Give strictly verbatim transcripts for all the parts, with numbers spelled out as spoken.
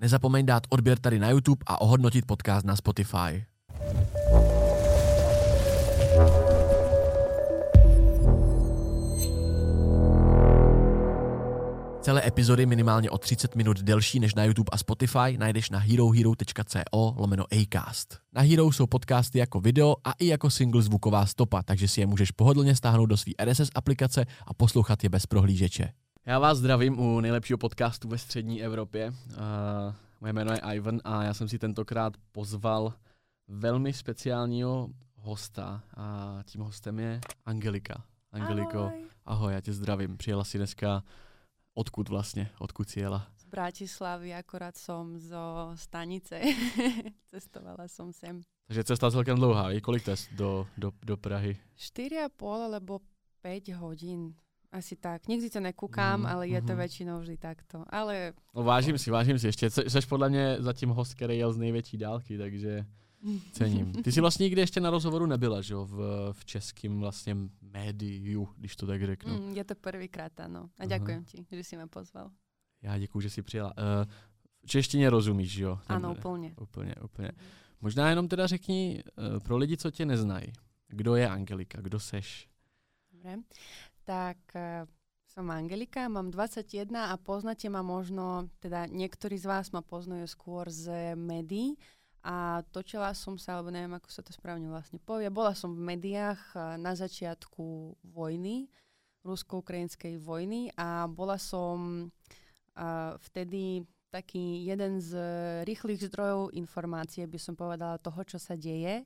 Nezapomeň dát odběr tady na YouTube a ohodnotit podcast na Spotify. Celé epizody minimálně o třicet minut delší než na YouTube a Spotify najdeš na herohero.co lomeno Acast. Na Hero jsou podcasty jako video a i jako single zvuková stopa, takže si je můžeš pohodlně stáhnout do své R S S aplikace a poslouchat je bez prohlížeče. Já vás zdravím u nejlepšího podcastu ve střední Evropě. Uh, moje jméno je Ivan a já jsem si tentokrát pozval velmi speciálního hosta a tím hostem je Angelika. Angeliko, ahoj. ahoj, já tě zdravím. Přijela si dneska odkud vlastně? Odkud si jela? Z Bratislavy, akorát som zo stanice. Cestovala som sem. Takže cesta celkem dlouhá. Je kolik test do, do, do Prahy? štyri a pol alebo päť hodín. Asi tak. Nikdy to nekúkám, mm, ale je to mm. väčšinou vždy takto. Ale... No, vážím si, vážím si ještě. Jseš podle mě zatím host, který jel z největší dálky, takže cením. Ty jsi vlastně nikdy ještě na rozhovoru nebyla, že jo? V, v českém vlastně médiu, když to tak řeknu. Mm, je to prvýkrát, ano. A ďakujem ti, že si ma pozval. Já děkuju, že jsi přijela. Uh, češtině rozumíš, že jo? Ano, úplně. Úplně, úplně. Možná jenom teda řekni uh, pro lidi, co tě neznají. Kdo je Angelika? Kdo seš? Dobre. Tak uh, som Angelika, mám dvadsaťjeden a poznáte ma možno, teda niektorí z vás ma poznajú skôr z médií a točila som sa, alebo neviem, ako sa to správne vlastne povie. Bola som v médiách uh, na začiatku vojny, rusko-ukrajinskej vojny a bola som uh, vtedy taký jeden z rýchlych zdrojov informácie, by som povedala, toho, čo sa deje.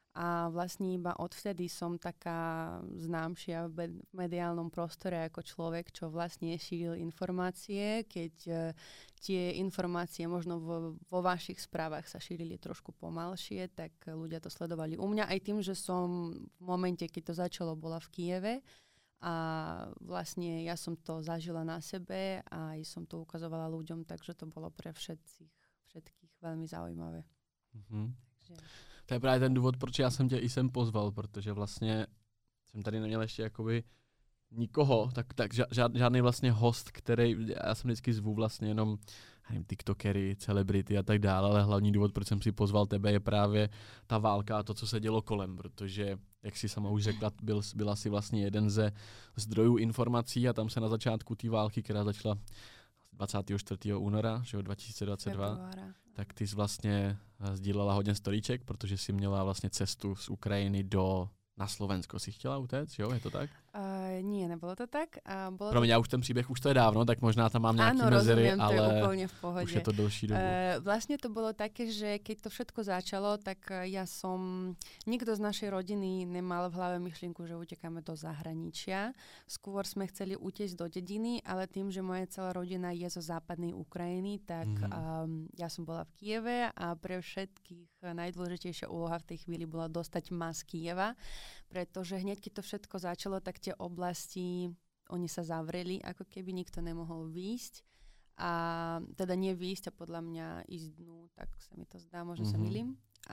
A vlastne iba odvtedy som taká známšia v mediálnom prostore ako človek, čo vlastne šíril informácie, keď uh, tie informácie možno vo, vo vašich správach sa šírili trošku pomalšie, tak ľudia to sledovali u mňa. Aj tým, že som v momente, keď to začalo, bola v Kyjeve a vlastne ja som to zažila na sebe a aj som to ukazovala ľuďom, takže to bolo pre všetkých, všetkých veľmi zaujímavé. Mm-hmm. Takže... To je právě ten důvod, proč já jsem tě i sem pozval, protože vlastně jsem tady neměl ještě jakoby nikoho, tak, tak žád, žádný vlastně host, který, já jsem vždycky zvu vlastně jenom nevím, tiktokery, celebrity a tak dále, ale hlavní důvod, proč jsem si pozval tebe, je právě ta válka a to, co se dělo kolem, protože, jak si sama už řekla, byl, byla si vlastně jeden ze zdrojů informací a tam se na začátku té války, která začala dvacátého čtvrtého února že dva tisíce dvacet dva, Februára. Tak ty jsi vlastně sdílela hodně storíček, protože jsi měla vlastně cestu z Ukrajiny do na Slovensko. Si chtěla utéct, jo? Je to tak? Uh, nie, nebolo to tak. Uh, bolo Promiň, to... já už ten příběh, už to je dávno, tak možná tam mám nějaký Áno, mezery, rozumiem, ale to je úplne v pohode. už je to delší dobu. Uh, vlastne to bolo také, že keď to všetko začalo, tak ja som, nikto z našej rodiny nemal v hlave myšlienku, že utekáme do zahraničia. Skôr sme chceli utiecť do dediny, ale tým, že moja celá rodina je zo západnej Ukrajiny, tak mm. um, ja som bola v Kyjeve a pre všetkých najdôležitejšia úloha v tej chvíli bola dostať ma z Kyjeva, pretože hneď, keď to všetko začalo, tak tie oblasti, oni sa zavreli, ako keby nikto nemohol výjsť. A teda nie výjsť a podľa mňa ísť dnu, tak sa mi to zdá, možno mm-hmm. sa milím.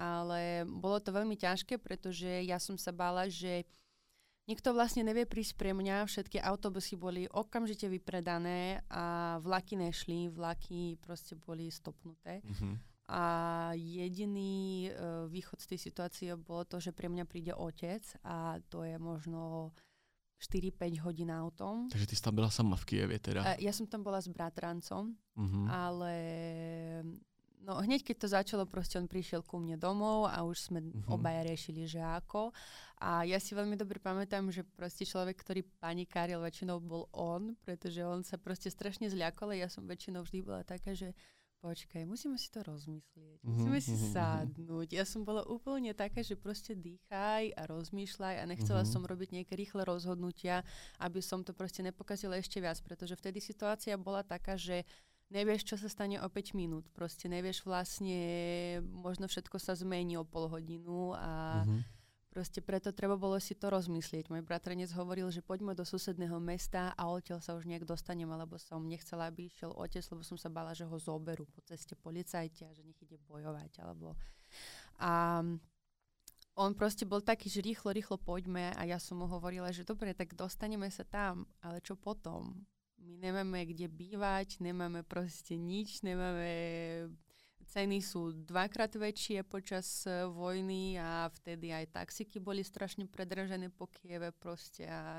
Ale bolo to veľmi ťažké, pretože ja som sa bála, že nikto vlastne nevie prísť pre mňa. Všetky autobusy boli okamžite vypredané a vlaky nešli, vlaky proste boli stopnuté. Mm-hmm. A jediný uh, východ z tej situácie bolo to, že pre mňa príde otec a to je možno štyri päť hodín autom. Takže ty si tam byla sama v Kyjevě teda? Uh, ja som tam bola s bratrancom, uh-huh. ale no hneď keď to začalo, proste on prišiel ku mne domov a už sme uh-huh. obaja riešili, že ako. A ja si veľmi dobre pamätám, že proste človek, ktorý panikáril, väčšinou bol on, pretože on sa proste strašne zľakol a ja som väčšinou vždy bola taká, že počkaj, musíme si to rozmyslieť, musíme mm-hmm. si sadnúť. Ja som bola úplne taká, že proste dýchaj a rozmýšľaj a nechcela mm-hmm. som robiť nejaké rýchle rozhodnutia, aby som to proste nepokazila ešte viac, pretože vtedy situácia bola taká, že nevieš, čo sa stane o päť minút. Proste nevieš vlastne, možno všetko sa zmení o pol hodinu a mm-hmm. proste preto treba bolo si to rozmyslieť. Môj bratranec hovoril, že poďme do susedného mesta a odtiaľ sa už nejak dostanem, alebo som nechcela, aby išiel otec, lebo som sa bála, že ho zoberú po ceste policajti a že nech ide bojovať. Alebo... A on proste bol taký, že rýchlo, rýchlo poďme a ja som mu hovorila, že dobre, tak dostaneme sa tam, ale čo potom? My nemáme kde bývať, nemáme proste nič, nemáme... Ceny sú dvakrát väčšie počas vojny a vtedy aj taxíky boli strašne predražené po Kieve proste a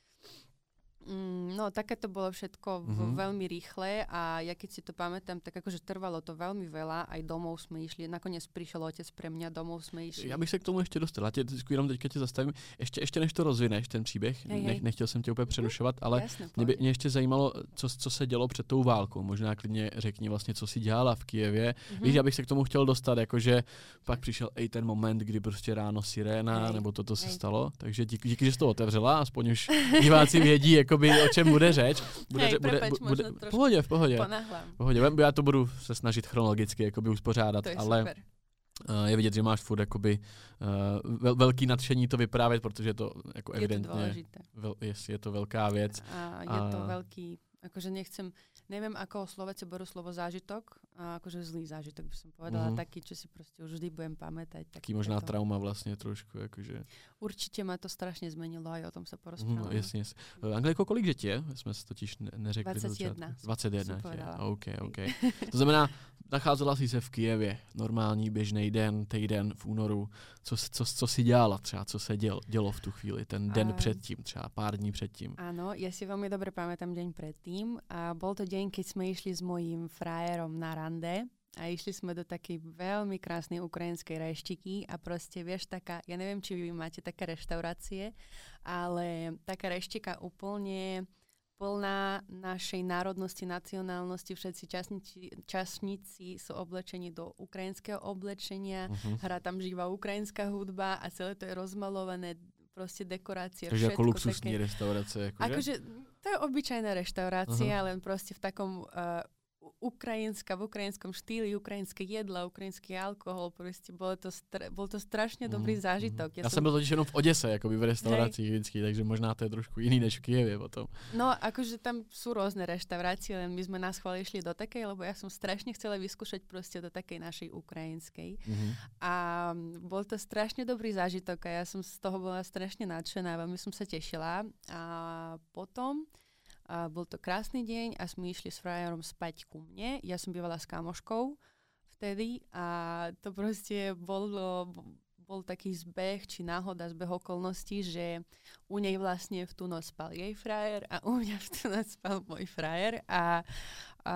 no, také to bolo všetko mm-hmm. veľmi rýchle a ja keď si to pamätám, tak akože trvalo to veľmi veľa, aj domov sme išli, nakoniec prišiel otec pre mňa, domov jsme išli. Já bych se k tomu ještě dostala, tě, jenom teďka tě zastavím, ještě, ještě než to rozvineš, ten příběh, hej, ne, hej. nechtěl jsem tě úplně přerušovat, ale Jasne, mě, by, mě ještě zajímalo, co, co se dělo před tou válkou, možná klidně řekni vlastně, co si dělala v Kyjevě, mm-hmm. víš, já bych se k tomu chtěl dostat, jakože pak přišel i ten moment, kdy prostě ráno siréna, hej, nebo toto se hej. stalo, takže díky, díky, že jsi to otevřela, aspoň už diváci vědí, jakoby, o čem bude řeč. Bude, hej, bude, prepač, bude, v pohodě, v pohodě. V pohodě. Já to budu se snažit chronologicky jakoby uspořádat, to je ale super. Uh, je vidět, že máš furt jakoby uh, vel, velký nadšení to vyprávět, protože to jako je evidentně to dôležité. Vel, je, je to velká věc. A je a... to veľký, akože nechcem, neviem ako Slováci berú slovo zážitok, a akože zlý zážitok by som povedala, mm-hmm. taký, čo si proste už vždy budem pamätať. Taký možná to... trauma vlastně trošku, jakože. Určitě ma to strašně zmenilo, aj o tom sa porozprávame. Mm, jasně, jasně. Angliko, kolik dětí je? Jsme se totiž ne- neřekli. dvacet jedna. dvacet jedna. OK, OK. To znamená, nacházela jsi se v Kyjevě, normální běžný den, týden v únoru. Co, co, co si dělala třeba, co se dělo, dělo v tu chvíli, ten den a... předtím, třeba pár dní předtím? Áno, ja si veľmi dobre pamätám deň predtým a bol to deň, keď sme išli s mojím frajerom na rande a išli sme do takej veľmi krásnej ukrajinskej reštiky a proste, vieš, taká, ja neviem, či vy máte také reštaurácie, ale taká reštika úplne plná našej národnosti, nacionálnosti, všetci časníci, časníci sú oblečení do ukrajinského oblečenia, uh-huh. hrá tam živá ukrajinská hudba a celé to je rozmalované, proste dekorácie. Takže ako luxusní také... restaurace. Akože? akože to je obyčajná reštaurácia, uh-huh. len proste v takom uh, ukrajinská, v ukrajinskom štýli, ukrajinské jedla, ukrajinský alkohol, proste bolo to stra- bol to strašne dobrý mm, zážitok. Ja, ja som byl totiž jenom v Odese, akoby v restaurácii vždycky, takže možná to je trošku iný než v Kyjevě potom. No, akože tam sú rôzne reštaurácie, len my sme na schvál išli do takej, lebo ja som strašne chcela vyskúšať proste do takej našej ukrajinskej. Mm-hmm. A bol to strašne dobrý zážitok a ja som z toho bola strašne nadšená, veľmi som sa tešila. A potom a bol to krásny deň a sme išli s frajerom spať ku mne. Ja som bývala s kamoškou vtedy a to proste bolo, bol taký zbeh či náhoda, zbeh okolností, že u nej vlastne v tú noc spal jej frajer a u mňa v tú noc spal môj frajer a, a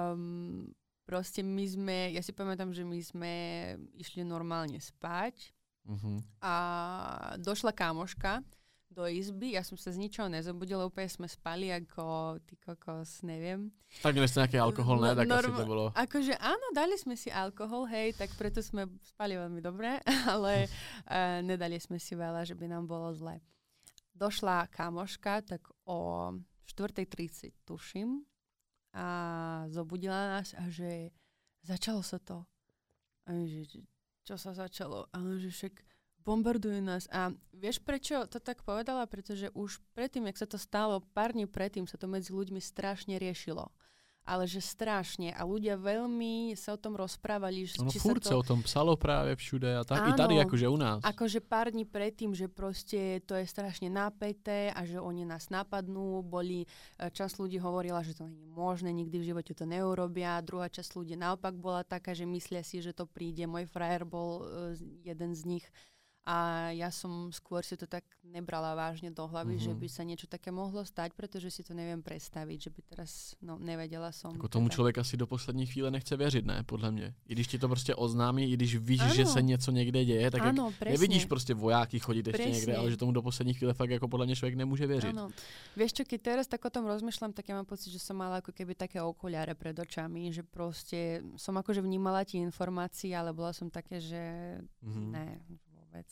proste my sme, ja si pamätám, že my sme išli normálne spať mm-hmm. a došla kamoška do izby, ja som sa z ničoho nezobudila, úplne sme spali ako ty kokos, neviem. Tak dali ste nejaký alkohol, ne? Tak Norm- asi to bolo. Akože áno, dali sme si alkohol, hej, tak preto sme spali veľmi dobre, ale uh, nedali sme si veľa, že by nám bolo zle. Došla kamoška, tak o štvrtej tridsať tuším a zobudila nás a že začalo sa to. A že čo sa začalo? A že však bombardujú nás. A vieš, prečo to tak povedala? Pretože už predtým, jak sa to stalo, pár dní predtým sa to medzi ľuďmi strašne riešilo. Ale že strašne. A ľudia veľmi sa o tom rozprávali. No či furt sa, to... sa o tom psalo práve všude a tak. Áno, i tady, akože u nás. Akože pár dní predtým, že proste to je strašne napäté a že oni nás napadnú. Boli, časť ľudí hovorila, že to nie je možné, nikdy v živote to neurobia. Druhá časť ľudí naopak bola taká, že myslia si, že to príde. Môj frajer bol uh, jeden z nich. A ja som skôr si to tak nebrala vážne do hlavy, mm-hmm. že by sa niečo také mohlo stať, pretože si to neviem predstaviť, že by teraz, no nevedela som. Jako tomu teda... člověk asi do poslední chvíle nechce věřit, ne, podle mě. I když ti to prostě oznámí, i když víš, ano. že se něco někde děje, tak ano, jak nevidíš prostě vojáky chodit ještě presne. Někde, ale že tomu do poslední chvíle fakt jako podle mě člověk nemůže věřit. Áno. Vieš čo, keď teraz tak o tom rozmýšľam, tak ja mám pocit, že som mala ako keby také okuliare pred očami, že proste som akože vnímala tie informácie, ale bola som také, že mm-hmm. ne. Vec.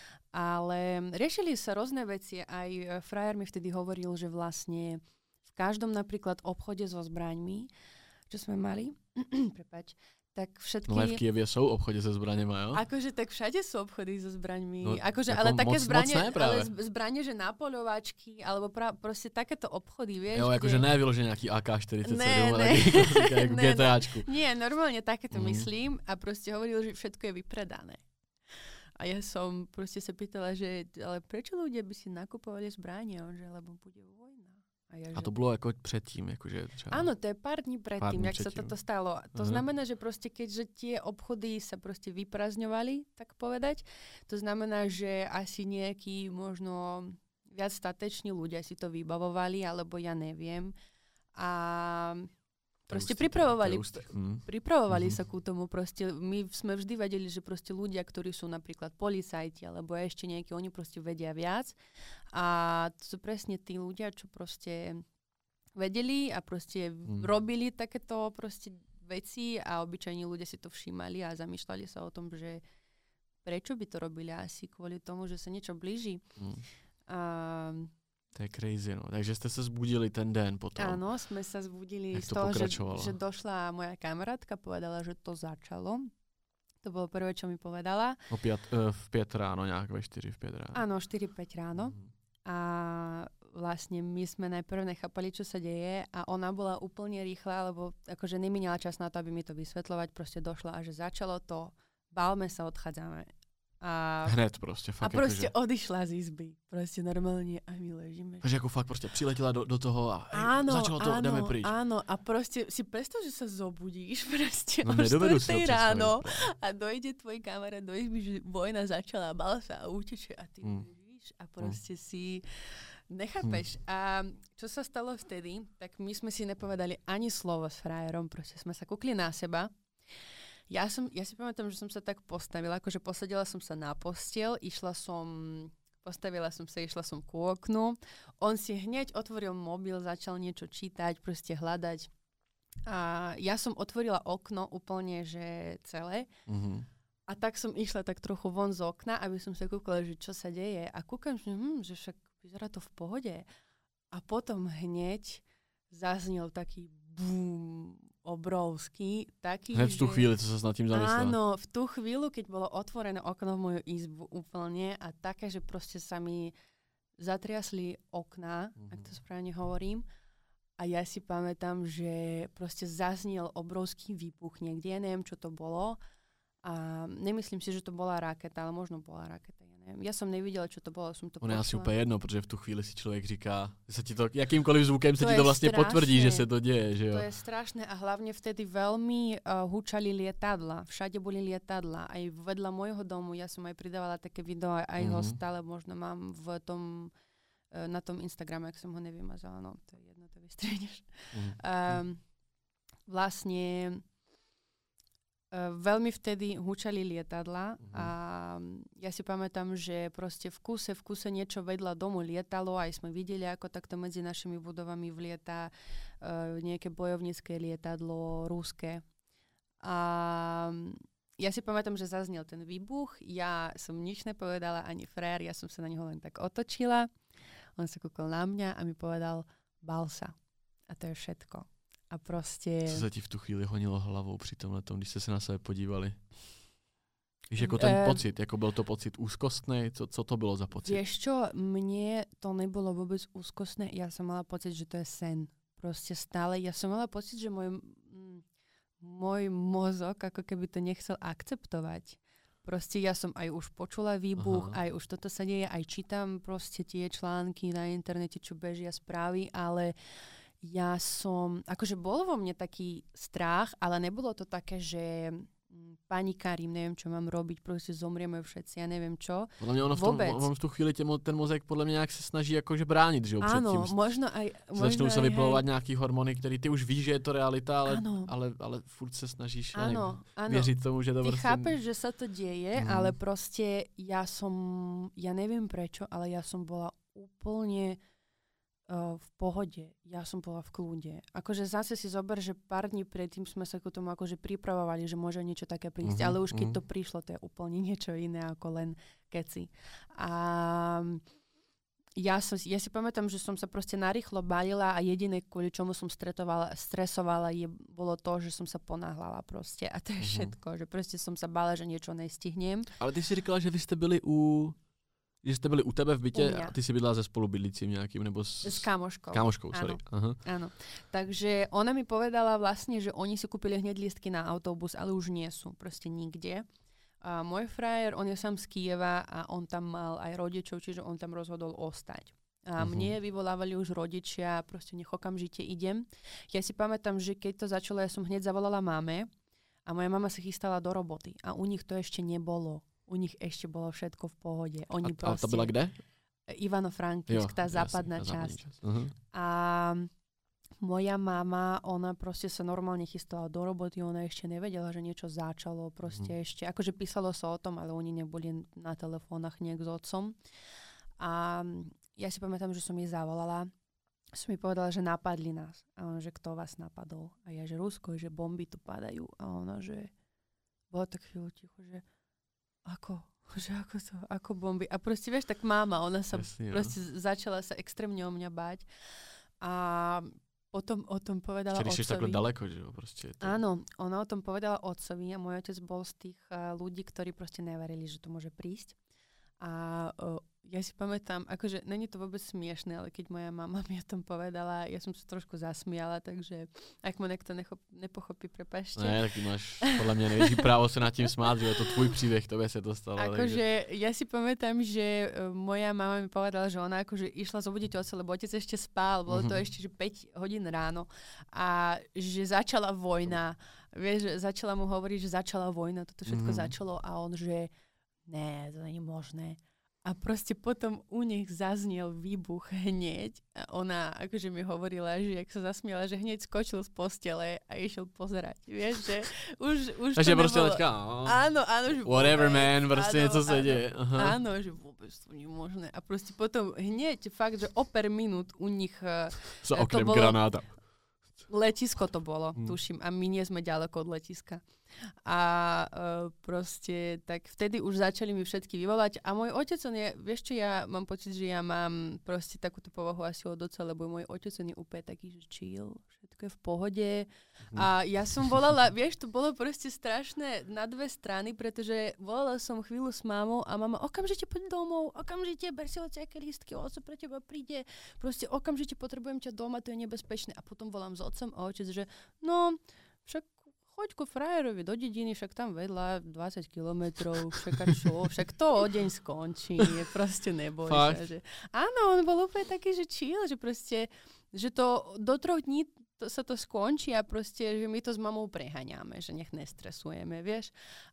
Ale riešili sa rôzne veci. Aj frajer mi vtedy hovoril, že vlastne v každom napríklad obchode so zbraňmi, čo sme mali, prepáč, tak všetky... No aj v Kyjevě sú obchody so zbraňmi, jo? Akože tak všade sú obchody so zbraňmi. No, akože, ale také zbranie, ale zbranie, že napoľovačky, alebo pra, proste takéto obchody, vieš. Jo, akože kde... ne vyložené nejaký á ká štyridsaťsedem, ne, ale ne. nejaký GTAčku. Nie, normálne takéto mm. myslím a proste hovoril, že všetko je vypredané. A ja som proste sa pýtala, že ale prečo ľudia by si nakupovali zbranie, že lebo bude vojna. A, ja, a to bylo jako předtím? Jakože třeba... Áno, to je pár dní predtým, jak předtím. sa toto stalo. To uh-huh. znamená, že proste keďže tie obchody sa proste vyprázdňovali, tak povedať, to znamená, že asi nejakí možno viac stateční ľudia si to vybavovali, alebo ja neviem. A proste ústý, pripravovali, mm. pripravovali mm. sa ku tomu. Proste my sme vždy vedeli, že proste ľudia, ktorí sú napríklad policajti, alebo ešte nejakí, oni proste vedia viac. A to sú presne tí ľudia, čo proste vedeli a proste mm. robili takéto proste veci a obyčajní ľudia si to všímali a zamýšľali sa o tom, že prečo by to robili asi kvôli tomu, že sa niečo blíži. Mm. A to je crazy, no. Takže ste sa zbudili ten den potom. Áno, sme sa zbudili z toho, že, že došla moja kamarátka, povedala, že to začalo. To bolo prvé, čo mi povedala. O piat, uh, v pět ráno, nejak ve štyri, v pět ráno. Áno, štyri päť ráno. Mm. A vlastne my sme najprv nechápali, čo sa deje a ona bola úplne rýchla, lebo akože nemínala čas na to, aby mi to vysvetľovať. Proste došla a že začalo to, bálme sa, odchádzame. A, hned prostě, fakt. A prostě jako, že... odišla z izby. Prostě normálně a my ležíme. Takže jako fakt prostě přiletěla do, do toho a hej, áno, začalo to, áno, jdeme pryč. Áno, a prostě si predstav, že sa zobudíš prostě no, o štvrtej ráno a dojde tvoj kamarát do izby, že vojna začala, bal sa a uteče a ty mm. ležíš a prostě mm. si nechápeš. Mm. A čo sa stalo vtedy, tak my sme si nepovedali ani slovo s frajerom, prostě sme sa kúkli na seba. Ja, som, ja si pamätám, že som sa tak postavila, akože posadila som sa na postiel, išla som, postavila som sa, išla som ku oknu. On si hneď otvoril mobil, začal niečo čítať, proste hľadať. A ja som otvorila okno úplne, že celé. Mm-hmm. A tak som išla tak trochu von z okna, aby som sa kúkala, že čo sa deje. A kúkam, že, hm, že však vyzerá to v pohode. A potom hneď zaznel taký bum, obrovský, taký, hned v tú že... chvíli, co sa s nad tým zamyslela. Áno, v tú chvíľu, keď bolo otvorené okno v moju izbu úplne a také, že proste sa mi zatriasli okná, mm-hmm. ak to správne hovorím. A ja si pamätám, že proste zaznel obrovský výbuch niekde, ja neviem, čo to bolo. A nemyslím si, že to bola raketa, ale možno bola raketa, ja neviem. Ja som nevidela, čo to bolo, som to ono počula. je asi úplně jedno, protože v tu chvíli si člověk říká, že sa ti to, jakýmkoliv zvukem sa ti to vlastne strašné. Potvrdí, že sa to deje. Že jo? To je strašné a hlavne vtedy veľmi uh, húčali lietadla. Všade boli lietadla. Aj vedľa môjho domu, ja som aj pridávala také video, aj mm-hmm. ho stále možno mám v tom, uh, na tom Instagrame, ak som ho nevymazala, no to je jedno, to vystriedneš. Mm-hmm. Um, vlastne Uh, veľmi vtedy húčali lietadla uh-huh. a ja si pamätám, že proste v kuse, v kuse niečo vedľa domu lietalo, aj sme videli, ako takto medzi našimi budovami vlieta uh, nejaké bojovnícke lietadlo, ruské. A ja si pamätám, že zaznel ten výbuch, ja som nič nepovedala, ani frajer, ja som sa na neho len tak otočila, on sa kúkol na mňa a mi povedal, bál sa. A to je všetko. A prostě... Co se ti v tu chvíli honilo hlavou při tomhle tom, když jste se na sebe podívali? Víš, jako ten uh, pocit, jako byl to pocit úzkostný, co, co to bylo za pocit? Vieš čo, mne to nebolo vôbec úzkostné, ja som mala pocit, že to je sen. Proste stále, ja som mala pocit, že môj, m, môj mozog ako keby to nechcel akceptovať. Proste ja som aj už počula výbuch, aha. aj už toto sa deje, aj čítam proste tie články na internete, čo bežia správy, ale ja som, akože bol vo mne taký strach, ale nebolo to také, že panikárim, neviem, čo mám robiť, proste zomrieme všetci, ja neviem čo. Podľa mňa ono v, tom, ono v tú chvíli tě, ten mozek podľa mňa nejak sa snaží akože bránit, že jo, před áno, tím. možno aj... Možno začnou aj, sa vyplavovať nejaký hormony, ktorý ty už víš, že je to realita, ale, áno. ale, ale furt sa snažíš áno, áno. věřit tomu, že to ty prostě... chápeš, že sa to deje, mm. ale proste ja som, ja neviem prečo, ale ja som bola úplne v pohode. Ja som bola v kľude. Akože zase si zober, že pár dní predtým sme sa k tomu akože pripravovali, že môže niečo také prísť, uh-huh, ale už keď uh-huh. to prišlo, to je úplne niečo iné ako len keci. A ja, som, ja si pamätám, že som sa proste narýchlo balila a jediné, kvôli čomu som stresovala, je, bolo to, že som sa ponáhľala proste. A to je uh-huh. všetko, že proste som sa bála, že niečo nestihnem. Ale ty si říkala, že vy ste byli u... Že jste byli u tebe v bytě a ty si bydlela se spolubydlícím nějakým, nebo s... S kámoškou. Kámoškou, sorry. Áno. Aha. Áno. Takže ona mi povedala vlastne, že oni si kúpili hneď lístky na autobus, ale už nie sú proste nikde. A môj frajer, on je sám z Kyjeva a on tam mal aj rodičov, čiže on tam rozhodol ostať. A uh-huh. mne vyvolávali už rodičia, proste nech okamžite idem. Ja si pamätám, že keď to začalo, ja som hneď zavolala máme a moja mama sa chystala do roboty. A u nich to ešte nebolo. U nich ešte bolo všetko v pohode. Oni a, proste, a to byla kde? Ivano-Frankivsk, tá západná jasný, časť. časť. Uh-huh. A moja mama, ona proste sa normálne chystala do roboty, ona ešte nevedela, že niečo začalo, proste uh-huh. ešte, akože písalo sa o tom, ale oni neboli na telefónach nejak s otcom. A ja si pamätám, že som jej zavolala, som jej povedala, že napadli nás. A ona, že kto vás napadol? A ja, že Rusko, že bomby tu padajú. A ona, že bolo tak chvíľu ticho, že ako? Že ako to? Ako bomby? A proste, vieš, tak máma, ona sa Jasne, proste no. začala sa extrémne o mňa báť. A potom o tom povedala otcovi. Čiže takhle daleko, že jo? Proste to... Áno, ona o tom povedala otcovi a môj otec bol z tých uh, ľudí, ktorí proste neverili, že to môže prísť. A uh, ja si pamätám, akože není to vôbec smiešné, ale keď moja mama mi o tom povedala, ja som sa trošku zasmiala, takže ak ma niekto nechop, nepochopí, prepáčte. Ne, tak ty máš podľa mňa největší právo sa nad tým smáť, že je to tvoj príbeh, to by sa to stalo. Akože takže... ja si pamätám, že uh, moja mama mi povedala, že ona akože išla zobudiť otca, lebo otec ešte spál, bolo to mm-hmm. ešte že päť hodín ráno a že začala vojna. Vieš, začala mu hovoriť, že začala vojna, toto všetko mm-hmm. začalo a on, že ne, to nie je možné. A proste potom u nich zaznel výbuch hneď a ona akože mi hovorila, že jak sa zasmiala, že hneď skočil z postele a išiel pozerať. Vieš, že už, už Takže to proste nebolo... taká, áno, áno, že whatever vôbec, man, proste áno, niečo sa áno, deje. Aha. Áno, že vôbec to nie je možné. A proste potom hneď fakt, že o per minút u nich sa okrem bolo... granáta. Letisko to bolo, hmm. tuším. A my nie sme ďaleko od letiska. A uh, proste tak vtedy už začali mi všetky vyvolať. A môj otec, on je, vieš čo, ja mám pocit, že ja mám proste takúto povahu asi od oca, lebo môj otec on je úplne taký, že chill, všetko je v pohode. Hmm. A ja som volala, vieš, to bolo proste strašné na dve strany, pretože volala som chvíľu s mámou a mama, okamžite poď domov, okamžite ber si hociaké lístky, oco pre teba príde, proste okamžite potrebujem ťa doma, to je nebezpečné. A potom volám s otcom a otec, že no, však choď ku frajerovi do dediny, však tam vedľa dvadsať kilometrov, však čo, však to o deň skončí, proste neboj sa. Že... Áno, on bol úplne taký, že chill, že proste, že to do troch dní to, sa to skončí a proste, že my to s mamou preháňame, že nech nestresujeme, vieš.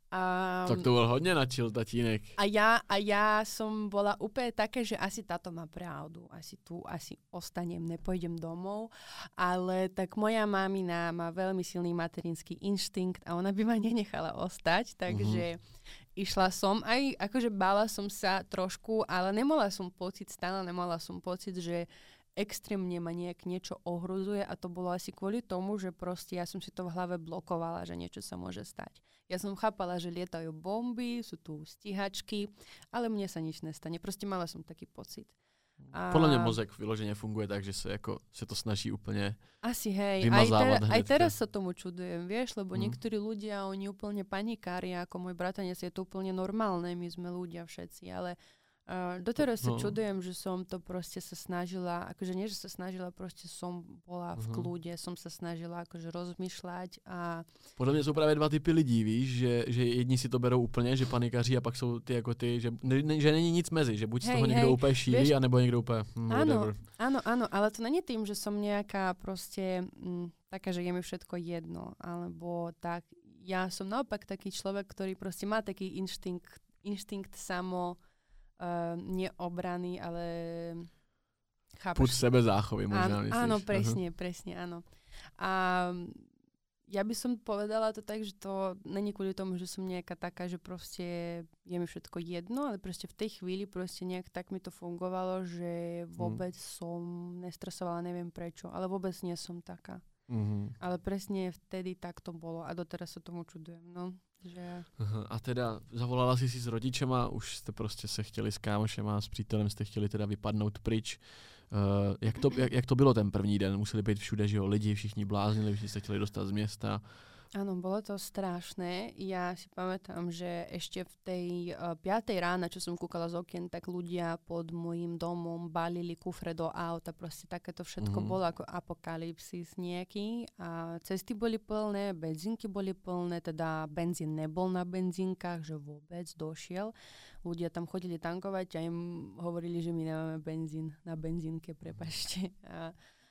A, tak to bol hodne na chill tatínek. A ja, a ja som bola úplne také, že asi táto má pravdu, asi tu, asi ostanem, nepojdem domov, ale tak moja mamina má veľmi silný materinský inštinkt a ona by ma nenechala ostať, takže mm-hmm. išla som, aj akože bála som sa trošku, ale nemala som pocit, stále nemala som pocit, že extrémne ma nejak niečo ohrozuje a to bolo asi kvôli tomu, že proste ja som si to v hlave blokovala, že niečo sa môže stať. Ja som chápala, že lietajú bomby, sú tu stíhačky, ale mne sa nič nestane. Proste mala som taký pocit. A... Podľa mňa mozek vyložene funguje tak, že sa, ako, sa to snaží úplne asi hej, aj, ter- aj teraz sa tomu čudujem, vieš, lebo mm. niektorí ľudia, oni úplne panikária, ako môj bratanec, je to úplne normálne, my sme ľudia všetci, ale Uh, doteraz no. sa čudujem, že som to proste sa snažila, akože nie, že sa snažila, proste som bola v uh-huh. kľude, som sa snažila akože rozmýšľať a... Podľa mňa sú práve dva typy lidí, víš, že, že jedni si to berou úplne, že panikaří a pak sú ty ako ty, že, ne, že není nic mezi, že buď z toho niekto úplne šíri, anebo niekto úplne hm, áno, áno, áno, ale to není tým, že som nejaká proste m, taká, že je mi všetko jedno, alebo tak, ja som naopak taký človek, ktorý proste má taký inštinkt, inštinkt samo Uh, nie obrany, ale chápeš? Púd sebe záchovy možná myslíš. Áno, presne, uh-huh. presne, áno. A ja by som povedala to tak, že to není kvôli tomu, že som nejaká taká, že proste je mi všetko jedno, ale proste v tej chvíli proste nejak tak mi to fungovalo, že vôbec uh-huh. som nestresovala, neviem prečo, ale vôbec nie som taká. Uh-huh. Ale presne vtedy tak to bolo a doteraz sa tomu čudujem, no. Že... Aha, a teda zavolala si si s rodičema, už jste prostě se chtěli s kámošema, s přítelem jste chtěli teda vypadnout pryč. Uh, jak, to, jak, jak to bylo ten první den? Museli být všude, že jo, lidi, všichni bláznili, všichni se chtěli dostat z města. Áno, bolo to strašné. Ja si pamätám, že ešte v tej uh, piatej rána, čo som kúkala z okien, tak ľudia pod môjim domom balili kufre do auta. Proste takéto všetko mm-hmm. bolo ako apokalypsis nejaký. A cesty boli plné, benzínky boli plné, teda benzín nebol na benzínkach, že vôbec došiel. Ľudia tam chodili tankovať a im hovorili, že my nemáme benzín na benzínke, prepáčte. A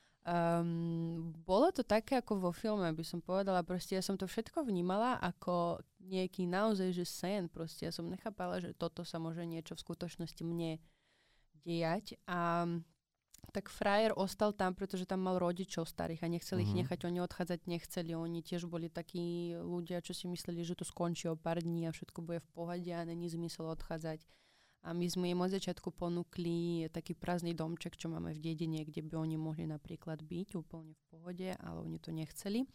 Um, bolo to také ako vo filme, by som povedala. Proste ja som to všetko vnímala ako nejaký naozaj, že sen. Proste ja som nechápala, že toto sa môže niečo v skutočnosti mne dejať. A tak frajer ostal tam, pretože tam mal rodičov starých a nechceli mm-hmm. ich nechať. Oni odchádzať nechceli. Oni tiež boli takí ľudia, čo si mysleli, že to skončí o pár dní a všetko bude v pohode a není zmysel odchádzať. A my sme im od začiatku ponúkli taký prázdny domček, čo máme v dedine, kde by oni mohli napríklad byť úplne v pohode, ale oni to nechceli.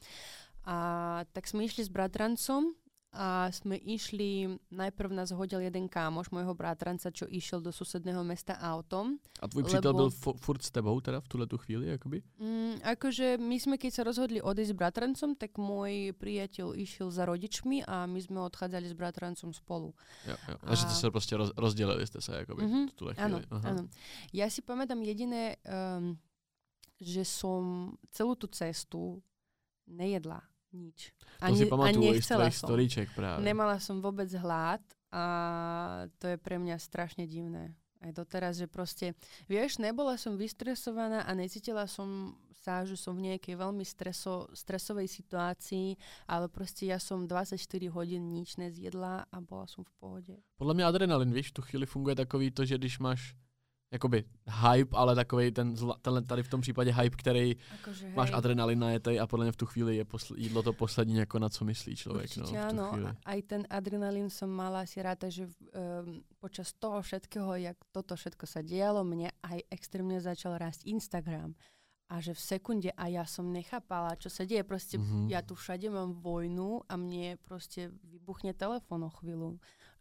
A tak sme išli s bratrancom a sme išli, najprv nás hodil jeden kámoš môjho bratranca, čo išiel do susedného mesta autom. A tvoj přítel byl f- furt s tebou teda v tuhletu chvíli, akoby? Mm, akože my sme, keď sa rozhodli odísť s bratrancom, tak môj priateľ išiel za rodičmi a my sme odchádzali s bratrancom spolu. Jo, jo. A, a že ste sa proste roz, rozdelili ste sa, akoby, mm-hmm. v tuhle chvíli. Áno, áno. Ja si pamätám jediné, um, že som celú tú cestu nejedla. Nič. To ani, si pamatujú z tvojich storíček práve. Nemala som vôbec hlad a to je pre mňa strašne divné. Aj doteraz, že proste, vieš, nebola som vystresovaná a necítila som sa, že som v nejakej veľmi streso, stresovej situácii, ale proste ja som dvadsaťštyri hodín nič nezjedla a bola som v pohode. Podľa mňa adrenalin, víš, v tu chvíli funguje takový to, že když máš jakoby hype, ale takovej ten, ten tady v tom případě hype, který akože, máš adrenalin najetej a podle mě v tu chvíli je posl- jídlo to poslední, jako na co myslí člověk. Určite no, áno, aj ten adrenalín som mala si ráta, že um, počas toho všetkého, jak toto všetko sa dialo, mne aj extrémne začal rásť Instagram. A že v sekunde a ja som nechápala, čo sa deje. Proste mm-hmm. ja tu všade mám vojnu a mne proste vybuchne telefón o chvíľu.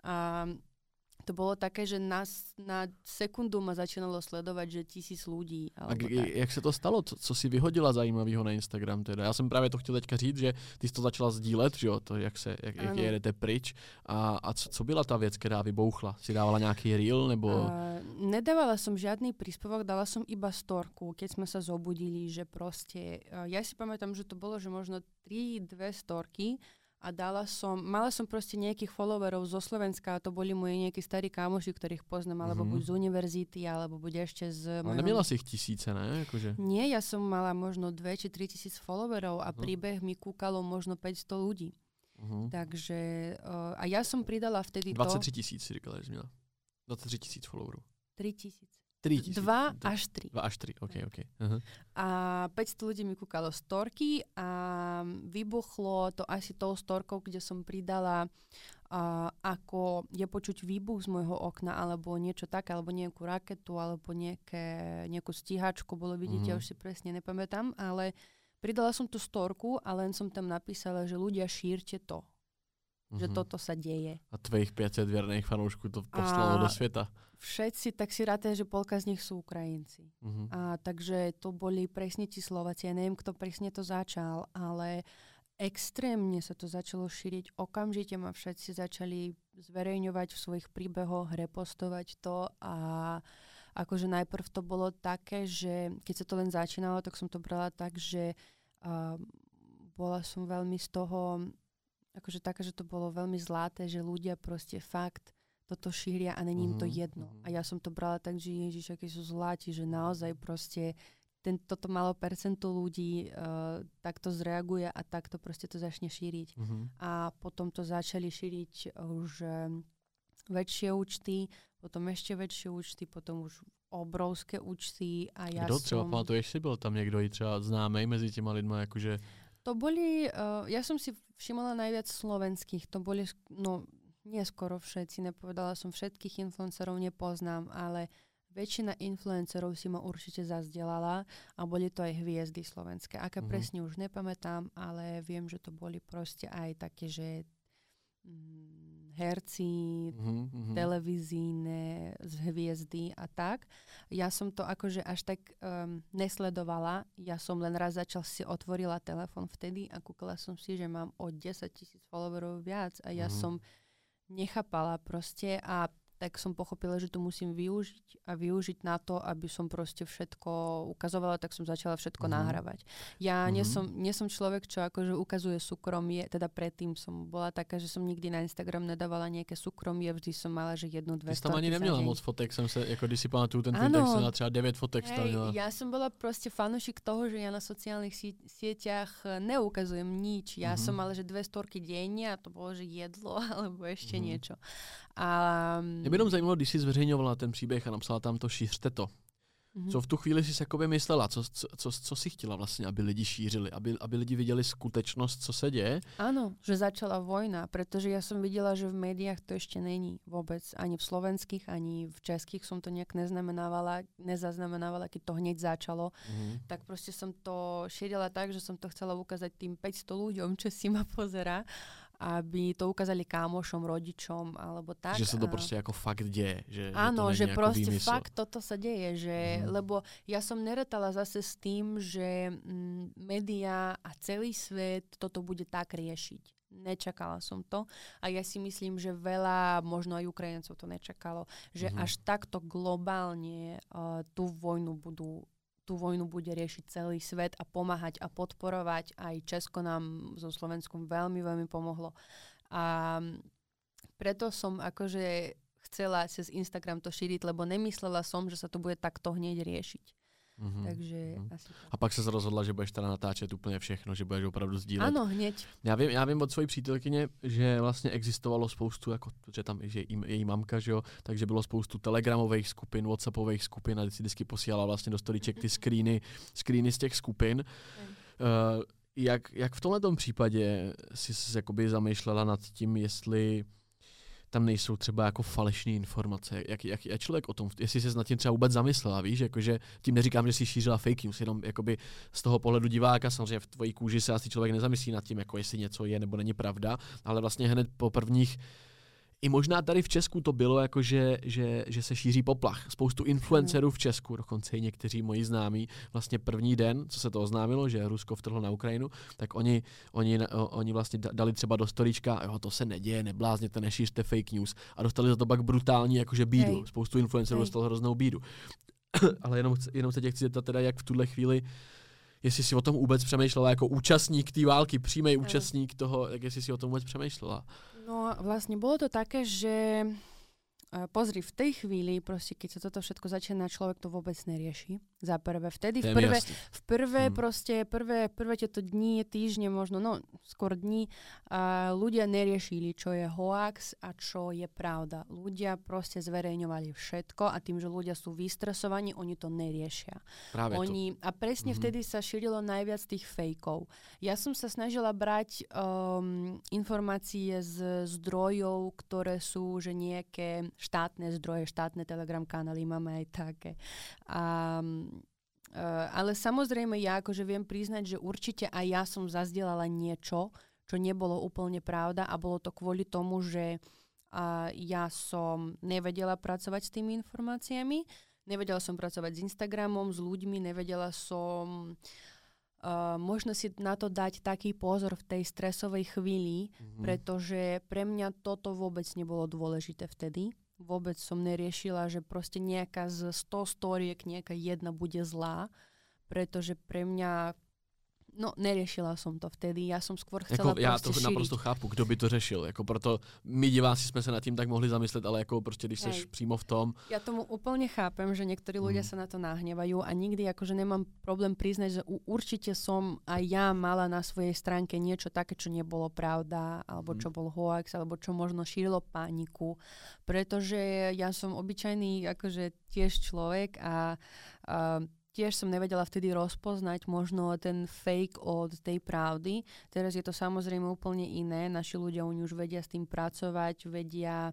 A to bolo také, že na, na sekundu ma začínalo sledovať, že tisíc ľudí. A g- jak se to stalo? Co, co si vyhodila zajímavého na Instagram teda? Já jsem právě to chtěl teďka říct, že ty jsi to začala sdílet, že jo? To, jak, se, jak, jak jedete pryč. A, a co, co byla ta věc, která vybouchla? Si dávala nějaký reel? Nebo... Uh, nedávala som žiadny príspevok, dala som iba storku, keď sme sa zobudili, že proste... Uh, ja si pamätám, že to bolo, že možno tri, dve storky, a dala som, mala som proste nejakých followerov zo Slovenska, a to boli moji nejakí starí kámoši, ktorých poznám, alebo mm-hmm. buď z univerzity, alebo buď ešte z... Ale neměla si ich tisíce, ne? Akože... Nie, ja som mala možno dve či tri tisíc followerov a uh-huh. príbeh mi kúkalo možno päťsto ľudí. Uh-huh. Takže, uh, a ja som pridala vtedy to... dvacet tři tisíc si říkala, že měla. dvacet tři tisíc followerov. tri tisíc. tri tisíc. Dva až tri. Dva až tri, ok, ok. Uh-huh. A päťsto ľudí mi kúkalo storky a vybuchlo to asi tou storkou, kde som pridala uh, ako je počuť výbuch z môjho okna, alebo niečo také, alebo nejakú raketu, alebo nejaké, nejakú stíhačku, bolo vidieť, uh-huh. ja už si presne nepamätám, ale pridala som tú storku a len som tam napísala, že ľudia šírte to. Že mm-hmm. toto sa deje. A tvojich päťdesiat vierných fanúškov to poslalo do sveta. Všetci, tak si ráte, že polka z nich sú Ukrajinci. Mm-hmm. A takže to boli presne ti Slováci. Ja neviem, kto presne to začal, ale extrémne sa to začalo šíriť. Okamžite ma všetci začali zverejňovať v svojich príbehoch, repostovať to a akože najprv to bolo také, že keď sa to len začínalo, tak som to brala tak, že uh, bola som veľmi z toho akože také, že to bolo veľmi zlaté, že ľudia proste fakt toto šíria a není im to jedno. A ja som to brala tak, že Ježiš, akí sú zlatí, že naozaj proste ten, toto malo percento ľudí uh, takto zreaguje a takto proste to začne šíriť. Uh-huh. A potom to začali šíriť už uh, väčšie účty, potom ešte väčšie účty, potom už obrovské účty a ja Kdo som... třeba pamatuješ si, byl tam niekto i třeba známej mezi těma lidma, akože... To boli, uh, ja som si všimala najviac slovenských, to boli, no nie skoro všetci, nepovedala som všetkých influencerov, nepoznám, ale väčšina influencerov si ma určite zazdelala a boli to aj hviezdy slovenské. Aké mm-hmm. presne už nepamätám, ale viem, že to boli proste aj také, že herci, mm-hmm. televízne z hviezdy a tak. Ja som to akože až tak um, nesledovala. Ja som len raz začal si otvorila telefon vtedy a kúkala som si, že mám o desať tisíc followerov viac a ja mm-hmm. som nechápala proste a tak som pochopila, že to musím využiť a využiť na to, aby som proste všetko ukazovala, tak som začala všetko mm-hmm. nahrávať. Ja mm-hmm. nie, som, nie som človek, čo akože ukazuje súkromie, teda predtým som bola taká, že som nikdy na Instagram nedávala nejaké súkromie, vždy som mala, že jednu, dve storky. Ty tam ani neměla moc fotek, jsem se, jako když si pamatuju ten tweet, tak jsem měla třeba devět fotek stavila. Ja som bola proste fanúšik toho, že ja na sociálnych sie- sieťach neukazujem nič. Ja mm-hmm. som mala, že dve storky denne a to bolo, že jedlo alebo ešte mm-hmm. niečo. A mě by jenom zajímalo, když jsi zveřejňovala ten příběh a napsala tam to šířte to. Mm-hmm. Co v tu chvíli jsi jakoby myslela? Co, co, co, co jsi chtěla vlastně, aby lidi šířili? Aby, aby lidi viděli skutečnost, co se děje? Áno, že začala vojna, pretože ja som videla, že v médiách to ešte není vôbec. Ani v slovenských, ani v českých som to nejak neznamenávala, nezaznamenávala, keď to hneď začalo. Mm-hmm. Tak proste som to šírila tak, že som to chcela ukázať tým päťsto ľuďom, čo si ma pozerá, aby to ukázali kámošom, rodičom, alebo tak. Že sa to proste ako fakt deje. Že, áno, že, že proste výmysl. fakt toto sa deje. Že, mm. Lebo ja som neretala zase s tým, že mm, média a celý svet toto bude tak riešiť. Nečakala som to. A ja si myslím, že veľa, možno aj Ukrajincov to nečakalo, že mm. až takto globálne uh, tú vojnu budú tú vojnu bude riešiť celý svet a pomáhať a podporovať. Aj Česko nám so Slovenskom veľmi, veľmi pomohlo. A preto som akože chcela cez Instagram to šíriť, lebo nemyslela som, že sa to bude takto hneď riešiť. Mm-hmm. Takže mm-hmm. asi tak. A pak se rozhodla, že budeš teda natáčet úplně všechno, že budeš opravdu sdílet. Ano, hněď. Já vím, já vím od svojí přítelkyně, že vlastně existovalo spoustu, jako, že tam že její, její mamka, že jo, takže bylo spoustu telegramových skupin, whatsappových skupin a si vždycky posílala vlastně do storíček ty screeny, screeny z těch skupin. Mm. Uh, jak, jak v tomhletom případě jsi se jakoby zamýšlela nad tím, jestli tam nejsou třeba jako falešné informace. Jak, jak, jak člověk o tom, jestli jsi nad tím třeba vůbec zamyslela, víš, jakože tím neříkám, že jsi šířila fake news, jenom jakoby z toho pohledu diváka, samozřejmě v tvojí kůži se asi člověk nezamyslí nad tím, jako jestli něco je nebo není pravda, ale vlastně hned po prvních i možná tady v Česku to bylo jako, že, že, že se šíří poplach. Spoustu influencerů v Česku, dokonce i někteří moji známí, vlastně první den, co se to oznámilo, že Rusko vtrhlo na Ukrajinu, tak oni, oni, oni vlastně dali třeba do storíčka, jo, to se neděje, neblázněte, nešířte fake news. A dostali za to pak brutální jakože bídu. Hej. Spoustu influencerů dostalo hroznou bídu. Ale jenom, jenom se tě chci zeptat teda, jak v tuhle chvíli, jestli si o tom vůbec přemýšlela jako účastník té války, přímý účastník toho, jak jestli si o tom vůbec přemýšlela. No vlastne bolo to také, že uh, pozri, v tej chvíli, proste, keď sa toto všetko začína, človek to vôbec nerieši. Za prvé, vtedy, v prvé, v prvé hmm. proste, prvé, prvé tieto dni, týždne možno, no skôr dni, uh, ľudia neriešili, čo je hoax a čo je pravda. Ľudia proste zverejňovali všetko a tým, že ľudia sú vystresovaní, oni to neriešia. Práve oni, to. A presne mm-hmm. vtedy sa šírilo najviac tých fejkov. Ja som sa snažila brať um, informácie z zdrojov, ktoré sú, že nejaké štátne zdroje, štátne Telegram kanály, máme aj také. A Uh, ale samozrejme ja akože viem priznať, že určite aj ja som zazdielala niečo, čo nebolo úplne pravda a bolo to kvôli tomu, že uh, ja som nevedela pracovať s tými informáciami, nevedela som pracovať s Instagramom, s ľuďmi, nevedela som uh, možno si na to dať taký pozor v tej stresovej chvíli, mm-hmm. pretože pre mňa toto vôbec nebolo dôležité vtedy. Vôbec som neriešila, že proste nejaká z sto storiek, nejaká jedna bude zlá, pretože pre mňa, no neriešila som to vtedy, ja som skôr chcela jako, já to šíriť. Naprosto chápu, kdo by to řešil, jako proto my diváci jsme se nad tím tak mohli zamyslet, ale jako prostě, když Hej. seš přímo v tom. Ja tomu úplne chápem, že niektorí ľudia mm. sa na to nahnevajú a nikdy akože nemám problém priznať, že určite som aj ja mala na svojej stránke niečo také, čo nebolo pravda, alebo čo bol hoax, alebo čo možno šírilo paniku, pretože ja som obyčajný akože tiež človek a, a tiež som nevedela vtedy rozpoznať možno ten fake od tej pravdy. Teraz je to samozrejme úplne iné. Naši ľudia, oni už vedia s tým pracovať, vedia mm-hmm.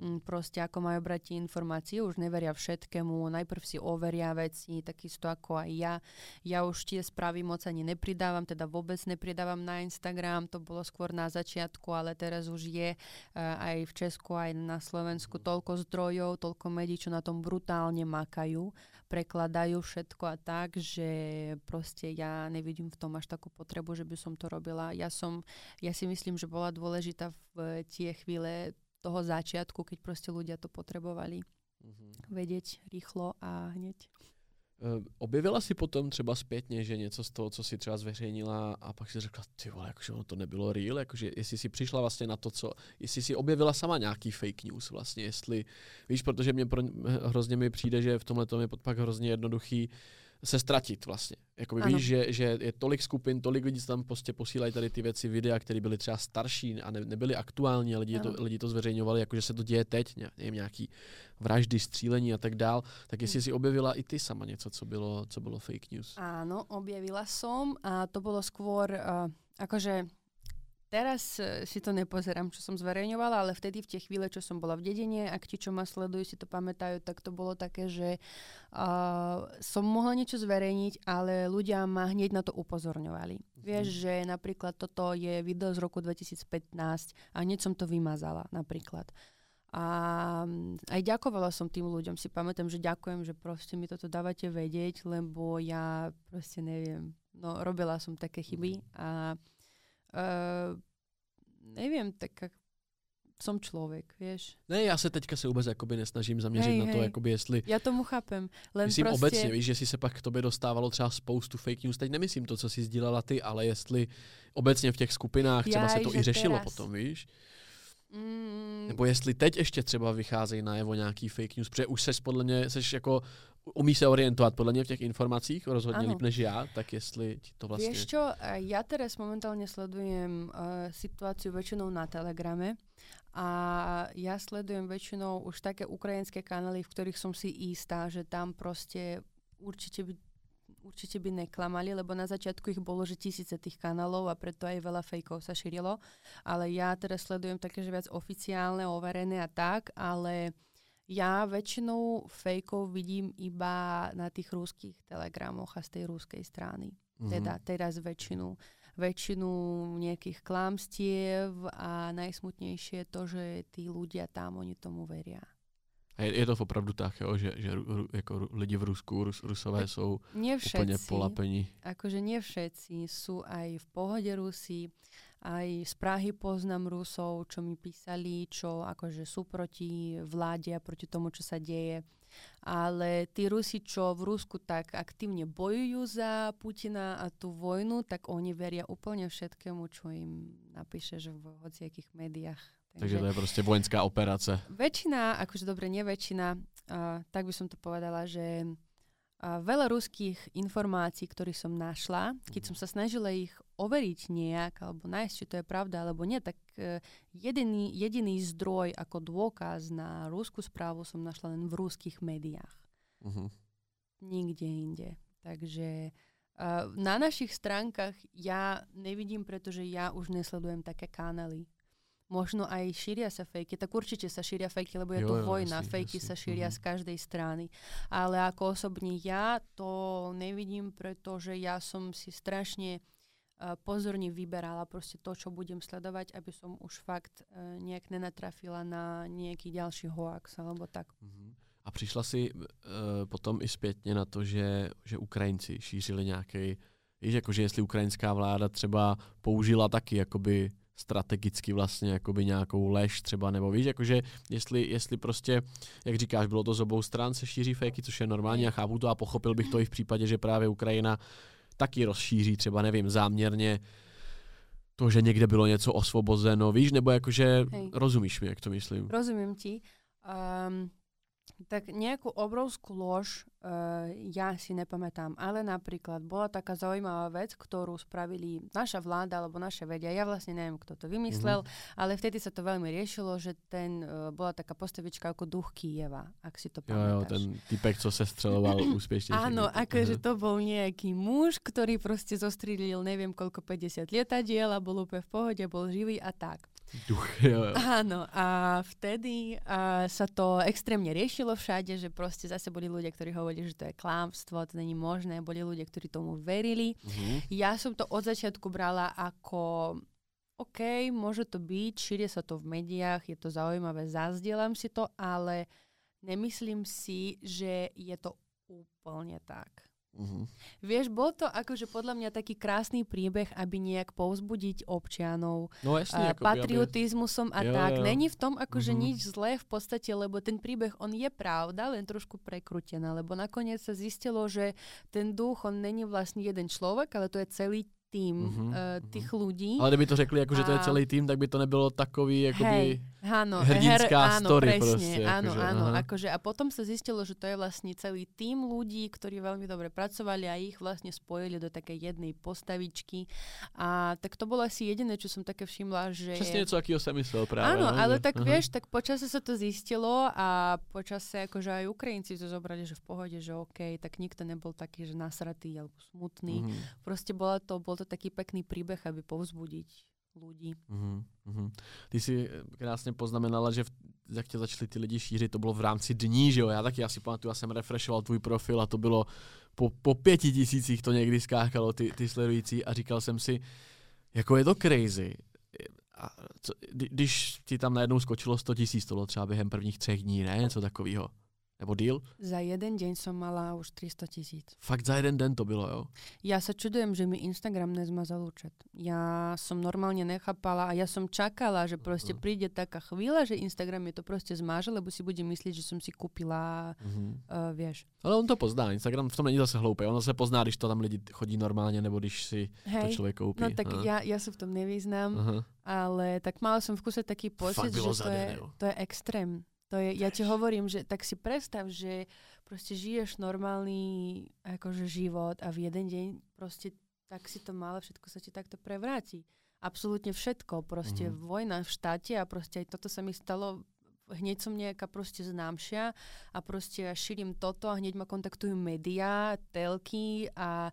proste ako majú brať tie informácie, už neveria všetkému, najprv si overia veci, takisto ako aj ja. Ja už tie správy moc ani nepridávam, teda vôbec nepridávam na Instagram, to bolo skôr na začiatku, ale teraz už je uh, aj v Česku, aj na Slovensku toľko zdrojov, toľko médií, čo na tom brutálne makajú, prekladajú všetko a tak, že proste ja nevidím v tom až takú potrebu, že by som to robila. Ja som, ja si myslím, že bola dôležitá v tie chvíle toho začiatku, keď proste ľudia to potrebovali mm-hmm. vedieť rýchlo a hneď. Uh, objevila si potom třeba zpětně, že něco z toho, co si třeba zveřejnila a pak si řekla, ty vole, jakože ono to nebylo real, jakože jestli si přišla vlastně na to, co, jestli si objevila sama nějaký fake news vlastně, jestli, víš, protože mě pro, hrozně mi přijde, že v tomhle tom je pak hrozně jednoduchý se ztratit vlastně. Jakoby víš, že, že je tolik skupin, tolik lidí, co tam prostě posílají tady ty věci, videa, které byly třeba starší a ne, nebyly aktuální, a lidi to, lidi to zveřejňovali, jakože se to děje teď, nevím, nějaký vraždy, střílení a tak dál. Tak jestli si objevila i ty sama něco, co bylo, co bylo fake news. Áno, objavila som a to bolo skôr, uh, akože teraz si to nepozerám, čo som zverejňovala, ale vtedy v tie chvíle, čo som bola v dedine, ak ti, čo ma sledujú, si to pamätajú, tak to bolo také, že uh, som mohla niečo zverejniť, ale ľudia ma hneď na to upozorňovali. Mm-hmm. Vieš, že napríklad toto je video z roku dvetisícpätnásť a hneď som to vymazala napríklad. A aj ďakovala som tým ľuďom. Si pamätám, že ďakujem, že proste mi toto dávate vedieť, lebo ja proste neviem. No, robila som také chyby a Uh, neviem, tak som človek, vieš. Ne, já se teďka se vůbec jakoby nesnažím zaměřit hej, na to, hej. jakoby jestli... Já tomu chápem. Len myslím prostě... obecně, víš, že si se pak k tobě dostávalo třeba spoustu fake news. Teď nemyslím to, co jsi sdílela ty, ale jestli obecně v těch skupinách třeba Jaj, se to i řešilo teraz. Potom, víš. Mm. Nebo jestli teď ještě třeba vycházejí najevo nějaký fake news, protože už seš podle mě, seš jako umí se orientovat podľa mňa v těch informácích, rozhodně líp než ja, tak jestli ti to vlastne... Vieš čo, ja teraz momentálne sledujem uh, situáciu väčšinou na Telegrame a ja sledujem väčšinou už také ukrajinské kanály, v ktorých som si istá, že tam proste určite by, určite by neklamali, lebo na začiatku ich bolo, že tisíce tých kanálov a preto aj veľa fejkov sa šírilo, ale ja teraz sledujem také, že viac oficiálne, overené a tak, ale ja väčšinou fejkov vidím iba na tých ruských telegramoch a z tej ruskej strany. Mm-hmm. Teda teraz väčšinu. Väčšinu nejakých klamstiev a najsmutnejšie je to, že tí ľudia tam, oni tomu veria. A je, je to opravdu tak, jo, že, že ru, jako lidi v Rusku, Rus, Rusové sú úplne polapení? Akože nie všetci. Sú aj v pohode Rusi. Aj z Prahy poznám Rusov, čo mi písali, čo akože sú proti vláde a proti tomu, čo sa deje. Ale tí Rusi, čo v Rusku tak aktívne bojujú za Putina a tú vojnu, tak oni veria úplne všetkému, čo im napíšeš v hociakých médiách. Takže, Takže to je proste vojenská operácia. Väčšina, akože dobre, nie väčšina, uh, tak by som to povedala, že uh, veľa ruských informácií, ktorých som našla, keď som sa snažila ich overiť nejak, alebo nájsť, či to je pravda, alebo nie, tak uh, jediný, jediný zdroj ako dôkaz na ruskú správu som našla len v ruských médiách. Uh-huh. Nikde inde. Takže uh, na našich stránkach ja nevidím, pretože ja už nesledujem také kanály. Možno aj šíria sa fejky, tak určite sa šíria fejky, lebo je jo, to jo, vojna, jasný, fejky jasný. Sa šíria uh-huh. z každej strany. Ale ako osobne ja to nevidím, pretože ja som si strašne uh, pozorne vyberala proste to, čo budem sledovať, aby som už fakt uh, nejak nenatrafila na nejaký ďalší hoax, alebo tak. Uh-huh. A přišla si uh, potom i zpětně na to, že, že Ukrajinci šířili nějaký, víš, jakože jestli ukrajinská vláda třeba použila taky jakoby strategicky vlastně jakoby nějakou lež třeba, nebo víš, jakože jestli, jestli prostě, jak říkáš, bylo to z obou stran, se šíří fejky, což je normální a chápu to a pochopil bych to i v případě, že právě Ukrajina taky rozšíří třeba, nevím, záměrně to, že někde bylo něco osvobozeno, víš, nebo jakože Hej. Rozumíš mi, jak to myslím? Rozumím ti. Um, tak nejakú obrovskú lož uh, ja si nepamätám, ale napríklad bola taká zaujímavá vec, ktorú spravili naša vláda alebo naše vedia. Ja vlastne neviem, kto to vymyslel, mm-hmm. ale vtedy sa to veľmi riešilo, že ten uh, bola taká postavička ako duch Kyjeva, ak si to pamätáš. Jo, jo, ten typek, co se střeloval úspešne. Áno, akože to bol nejaký muž, ktorý proste zostrelil neviem koľko päťdesiat lietadiel a bol úplne v pohode, bol živý a tak. Duch, jo, jo. Áno, a vtedy a, sa to extrémne riešilo všade, že proste zase boli ľudia, ktorí hovorili, že to je klamstvo, to není možné, boli ľudia, ktorí tomu verili. Uh-huh. Ja som to od začiatku brala ako OK, môže to byť, šíria sa to v médiách, je to zaujímavé, zazdielam si to, ale nemyslím si, že je to úplne tak. Uh-huh. Vieš, bol to akože podľa mňa taký krásny príbeh, aby nejak povzbudiť občanov no, jasne, uh, patriotizmusom a jo, tak. Jo. Není v tom akože uh-huh. nič zlé v podstate, lebo ten príbeh, on je pravda, len trošku prekrútená, lebo nakoniec sa zistilo, že ten duch, on není vlastne jeden človek, ale to je celý tým uh-huh, uh, tých uh-huh. ľudí. Ale kdyby to řekli, jako, že to je celý tým, tak by to nebylo takový jakoby áno, hrdinská her, áno, story presne, proste. Áno, akože, áno, akože, a potom sa zistilo, že to je vlastne celý tým ľudí, ktorí veľmi dobre pracovali a ich vlastne spojili do takej jednej postavičky. A tak to bolo asi jediné, čo som také všimla, že... Přesne něco, akýho som myslel práve. Áno, no, ale že, tak aha. vieš, tak počase sa to zistilo a počase akože aj Ukrajinci to zobrali, že v pohode, že OK, tak nikto nebol taký, že nasratý alebo smutný. Mm-hmm. Proste bola to, bol to taký pekný príbeh, aby povzbudiť ľudí. Mm-hmm. Ty si krásně poznamenala, že v, jak tě začali ty lidi šířit, to bylo v rámci dní, že jo? Já taky, já si pamatuju, já jsem refreshoval tvůj profil a to bylo po, po pěti tisících to někdy skákalo, ty, ty sledující a říkal jsem si, jako je to crazy. A co, když ti tam najednou skočilo sto tisíc, to bylo třeba během prvních třech dní, ne? Něco takového. Nebo deal? Za jeden deň som mala už tristo tisíc. Fakt za jeden den to bylo, jo? Ja sa čudujem, že mi Instagram nezmazal účet. Ja som normálne nechápala a ja som čakala, že proste príde taká chvíľa, že Instagram je to proste zmáže, lebo si bude myslieť, že som si kúpila, uh-huh. uh, vieš. Ale on to pozná, Instagram v tom není zase hloupý. On se pozná, když to tam lidi chodí normálně, nebo když si Hej. to člověk koupí. No tak ja, ja sa v tom nevyznám, uh-huh. ale tak mala som v kuse taký pocit, že to je, to je extrém. To je, ja ti hovorím, že tak si predstav, že proste žiješ normálny akože život a v jeden deň proste tak si to málo, všetko sa ti takto prevráti. Absolútne všetko. Proste mm. vojna v štáte a proste aj toto sa mi stalo. Hneď som nejaká proste známšia a proste ja šírim toto a hneď ma kontaktujú médiá, telky a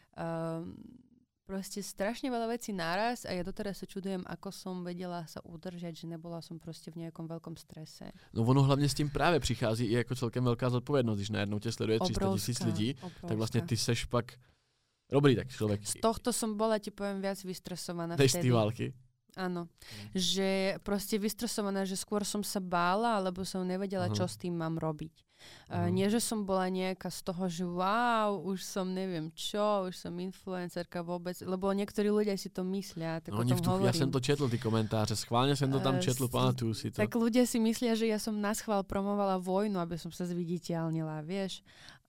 um, proste strašne veľa vecí naraz a ja doteraz sa čudujem, ako som vedela sa udržať, že nebola som proste v nejakom veľkom strese. No ono hlavně s tím právě přichází i jako celkem velká zodpovědnost, když najednou tě sleduje tři sta tisíc lidí, obrovská. Tak vlastně ty seš pak dobrý tak člověk. Z tohto som bola, ti poviem, viac vystresovaná vtedy. Než z vtedy. té války. Áno. Hmm. Že proste vystresovaná, že skôr som sa bála, alebo som nevedela, uh-huh. čo s tým mám robiť. Uh, nie, že som bola nejaká z toho, že wow, už som neviem čo, už som influencerka vôbec, lebo niektorí ľudia si to myslia, tak no, o tom v tu, hovorím. Ja som to četl, ty komentáře, schválne som to tam četl, uh, pamatuju si to. Tak ľudia si myslia, že ja som naschvál promovala vojnu, aby som sa zviditeľnila, vieš.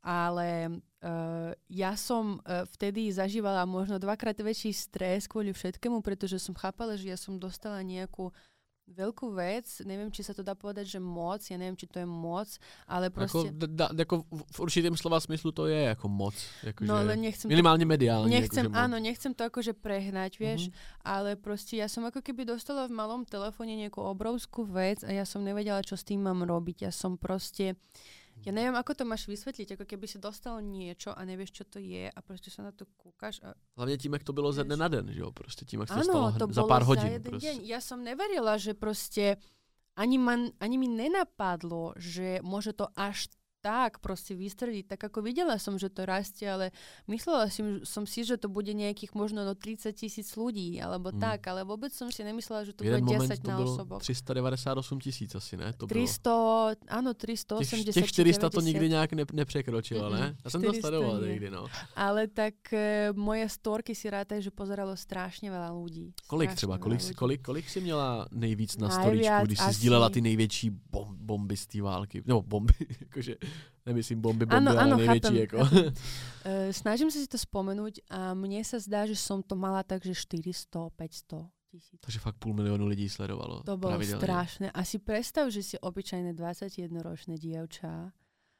Ale uh, ja som uh, vtedy zažívala možno dvakrát väčší stres kvôli všetkému, pretože som chápala, že ja som dostala nejakú veľkú vec, neviem, či sa to dá povedať, že moc, ja neviem, či to je moc, ale proste... Ako, da, ako v určitém slova smyslu to je ako moc. Ako no, že ale nechcem... Minimálne mediálne. Nechcem, akože áno, nechcem to akože prehnať, vieš, uh-huh. ale proste ja som ako keby dostala v malom telefóne nejakú obrovskú vec a ja som nevedela, čo s tým mám robiť. Ja som proste... Ja neviem, ako to máš vysvetliť, ako keby si dostal niečo a nevieš, čo to je a proste sa na to kúkaš. A... Hlavne tím, jak to bylo ze dne na den, že jo? Proste tím, jak to stalo za pár hodín. Za jeden deň. Ja som neverila, že proste ani, man, ani mi nenapadlo, že môže to až tak proste vystrediť. Tak ako videla som, že to rastie, ale myslela som, som si, že to bude nejakých možno no tridsať tisíc ľudí, alebo hmm. tak, ale vôbec som si nemyslela, že to bude desať na osoboch. tri sta devadesát osm tisíc asi, ne? To tristo, áno, tristoosemdesát. Těch štyri sta to nikdy nejak ne, nepřekročilo, ne? Ja som to sledoval niekdy, no. Ale tak e, moje storky si rátaj, že pozeralo strašne veľa ľudí. Kolik strašne třeba? Kolik, kolik, kolik si měla nejvíc na storičku, když si asi... sdílela ty největší bom, bomby z té války? Nebo bomby, jakože... Nemyslím bomby, bomby, ano, ale ano, největší. Chápem, jako. chápem. Uh, snažím sa si to spomenúť a mne sa zdá, že som to mala tak, že štyristo päťsto tisíc. Takže fakt půl milionu lidí sledovalo. To bolo strašné. A si predstav, že si obyčajné dvadsaťjednoročné dievča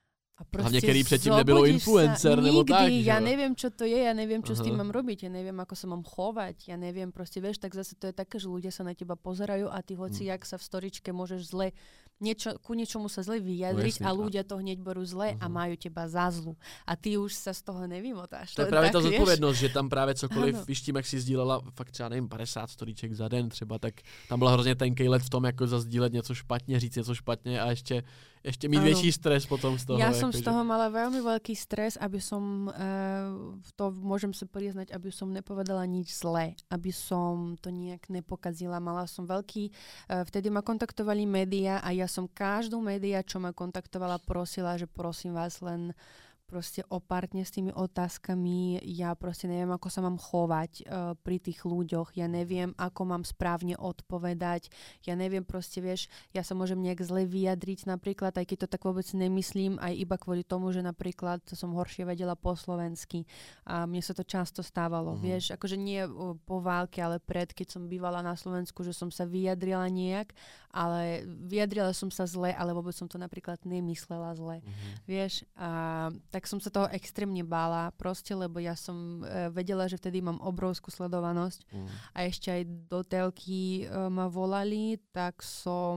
a hlavne, kedy předtím nebylo influencer, nikdy, nebo tak. Ja neviem, čo to je, ja neviem, čo Aha. s tým mám robiť, ja neviem, ako sa mám chovať, ja neviem, proste, vieš, tak zase to je také, že ľudia sa na teba pozerajú a ty hoci, hmm. jak sa v storičke môžeš zle niečo, ku niečomu sa zle vyjadriť no, a ľudia to hneď berú zle uh-huh. a majú teba za zlu. A ty už sa z toho nevymotáš. To je právě ta zodpovědnost, že tam právě cokoliv, ano. víš tím, jak si sdílela fakt třeba nevím, padesát storíček za den třeba, tak tam byla hrozně tenkej let v tom, jako zazdílet něco špatně, říct něco špatně a ještě, ještě mít ano. větší stres potom z toho. Ja jako, som z že... toho mala veľmi veľký stres, aby som, uh, to môžem sa priznať, aby som nepovedala nič zlé, aby som to nejak nepokazila. Mala som veľký, uh, vtedy ma kontaktovali médiá a ja som každú médiá, čo ma kontaktovala, prosila, že prosím vás len proste opártne s tými otázkami. Ja proste neviem, ako sa mám chovať uh, pri tých ľuďoch. Ja neviem, ako mám správne odpovedať. Ja neviem proste, vieš, ja sa môžem nejak zle vyjadriť napríklad, aj keď to tak vôbec nemyslím, aj iba kvôli tomu, že napríklad som horšie vedela po slovensky. A mne sa to často stávalo, uh-huh. vieš, akože nie uh, po válke, ale pred, keď som bývala na Slovensku, že som sa vyjadrila nejak, ale vyjadrila som sa zle, ale vôbec som to napríklad nemyslela zle. Uh-huh. Vieš, a tak tak som sa toho extrémne bála proste, lebo ja som e, vedela, že vtedy mám obrovskú sledovanosť mm. a ešte aj do telky e, ma volali, tak som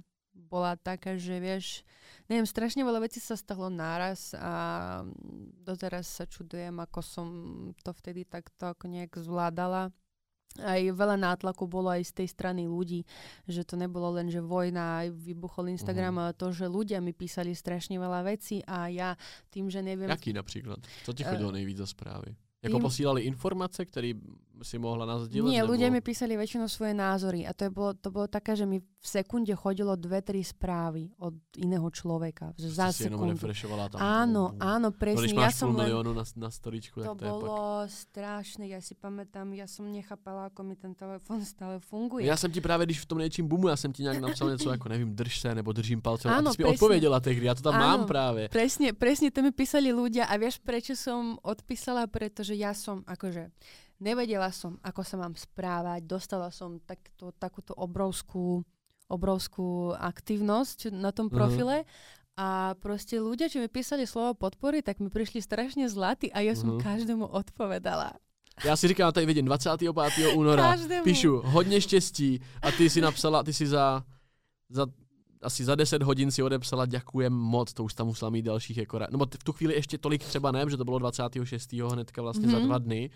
bola taká, že vieš, neviem, strašne veľa vecí sa stalo náraz a doteraz sa čudujem, ako som to vtedy takto nejak zvládala. Aj veľa nátlaku bolo aj z tej strany ľudí, že to nebolo len, že vojna, aj vybuchol Instagram, mm. ale to, že ľudia mi písali strašne veľa vecí a ja tým, že neviem... Jaký napríklad? Co ti chodilo uh, nejvíc za správy? Jako tým... posílali informace, které si mohla nazdieľať? Nie, nebo... ľudia mi písali väčšinou svoje názory a to, je bolo, to bolo také, že mi v sekunde chodilo dve, tri správy od iného človeka. Že za si jenom refreshovala tam. Áno, oh, áno, presne. No, když máš ja pol miliónu na, na storičku, to tak to je bolo pak... strašné, ja si pamätám, ja som nechápala, ako mi ten telefon stále funguje. Já jsem ti právě, když v tom něčím boomu, já jsem ti nějak napsal něco jako, nevím, drž se, nebo držím palcem, áno, a ty si mi odpověděla tehdy, já to tam áno, mám právě. Presne, presne, to mi písali ľudia a vieš, prečo som odpísala, pretože ja som, akože, nevedela som, ako sa mám správať, dostala som takto, takúto obrovskú, obrovskú aktivnosť na tom profile uh-huh. a proste ľudia, čo mi písali slovo podpory, tak mi prišli strašne zlatí a ja som uh-huh. každému odpovedala. Já si říkám, tady vidím dvacátého pátého února, každému. Píšu hodně štěstí a ty si napsala, ty si za, za asi za deset hodin si odepsala ďakujem moc, to už tam musela mít dalších jako, no v tu chvíli ještě tolik třeba ne, že to bylo dvacátého šestého hnedka vlastně mm-hmm. za dva dny.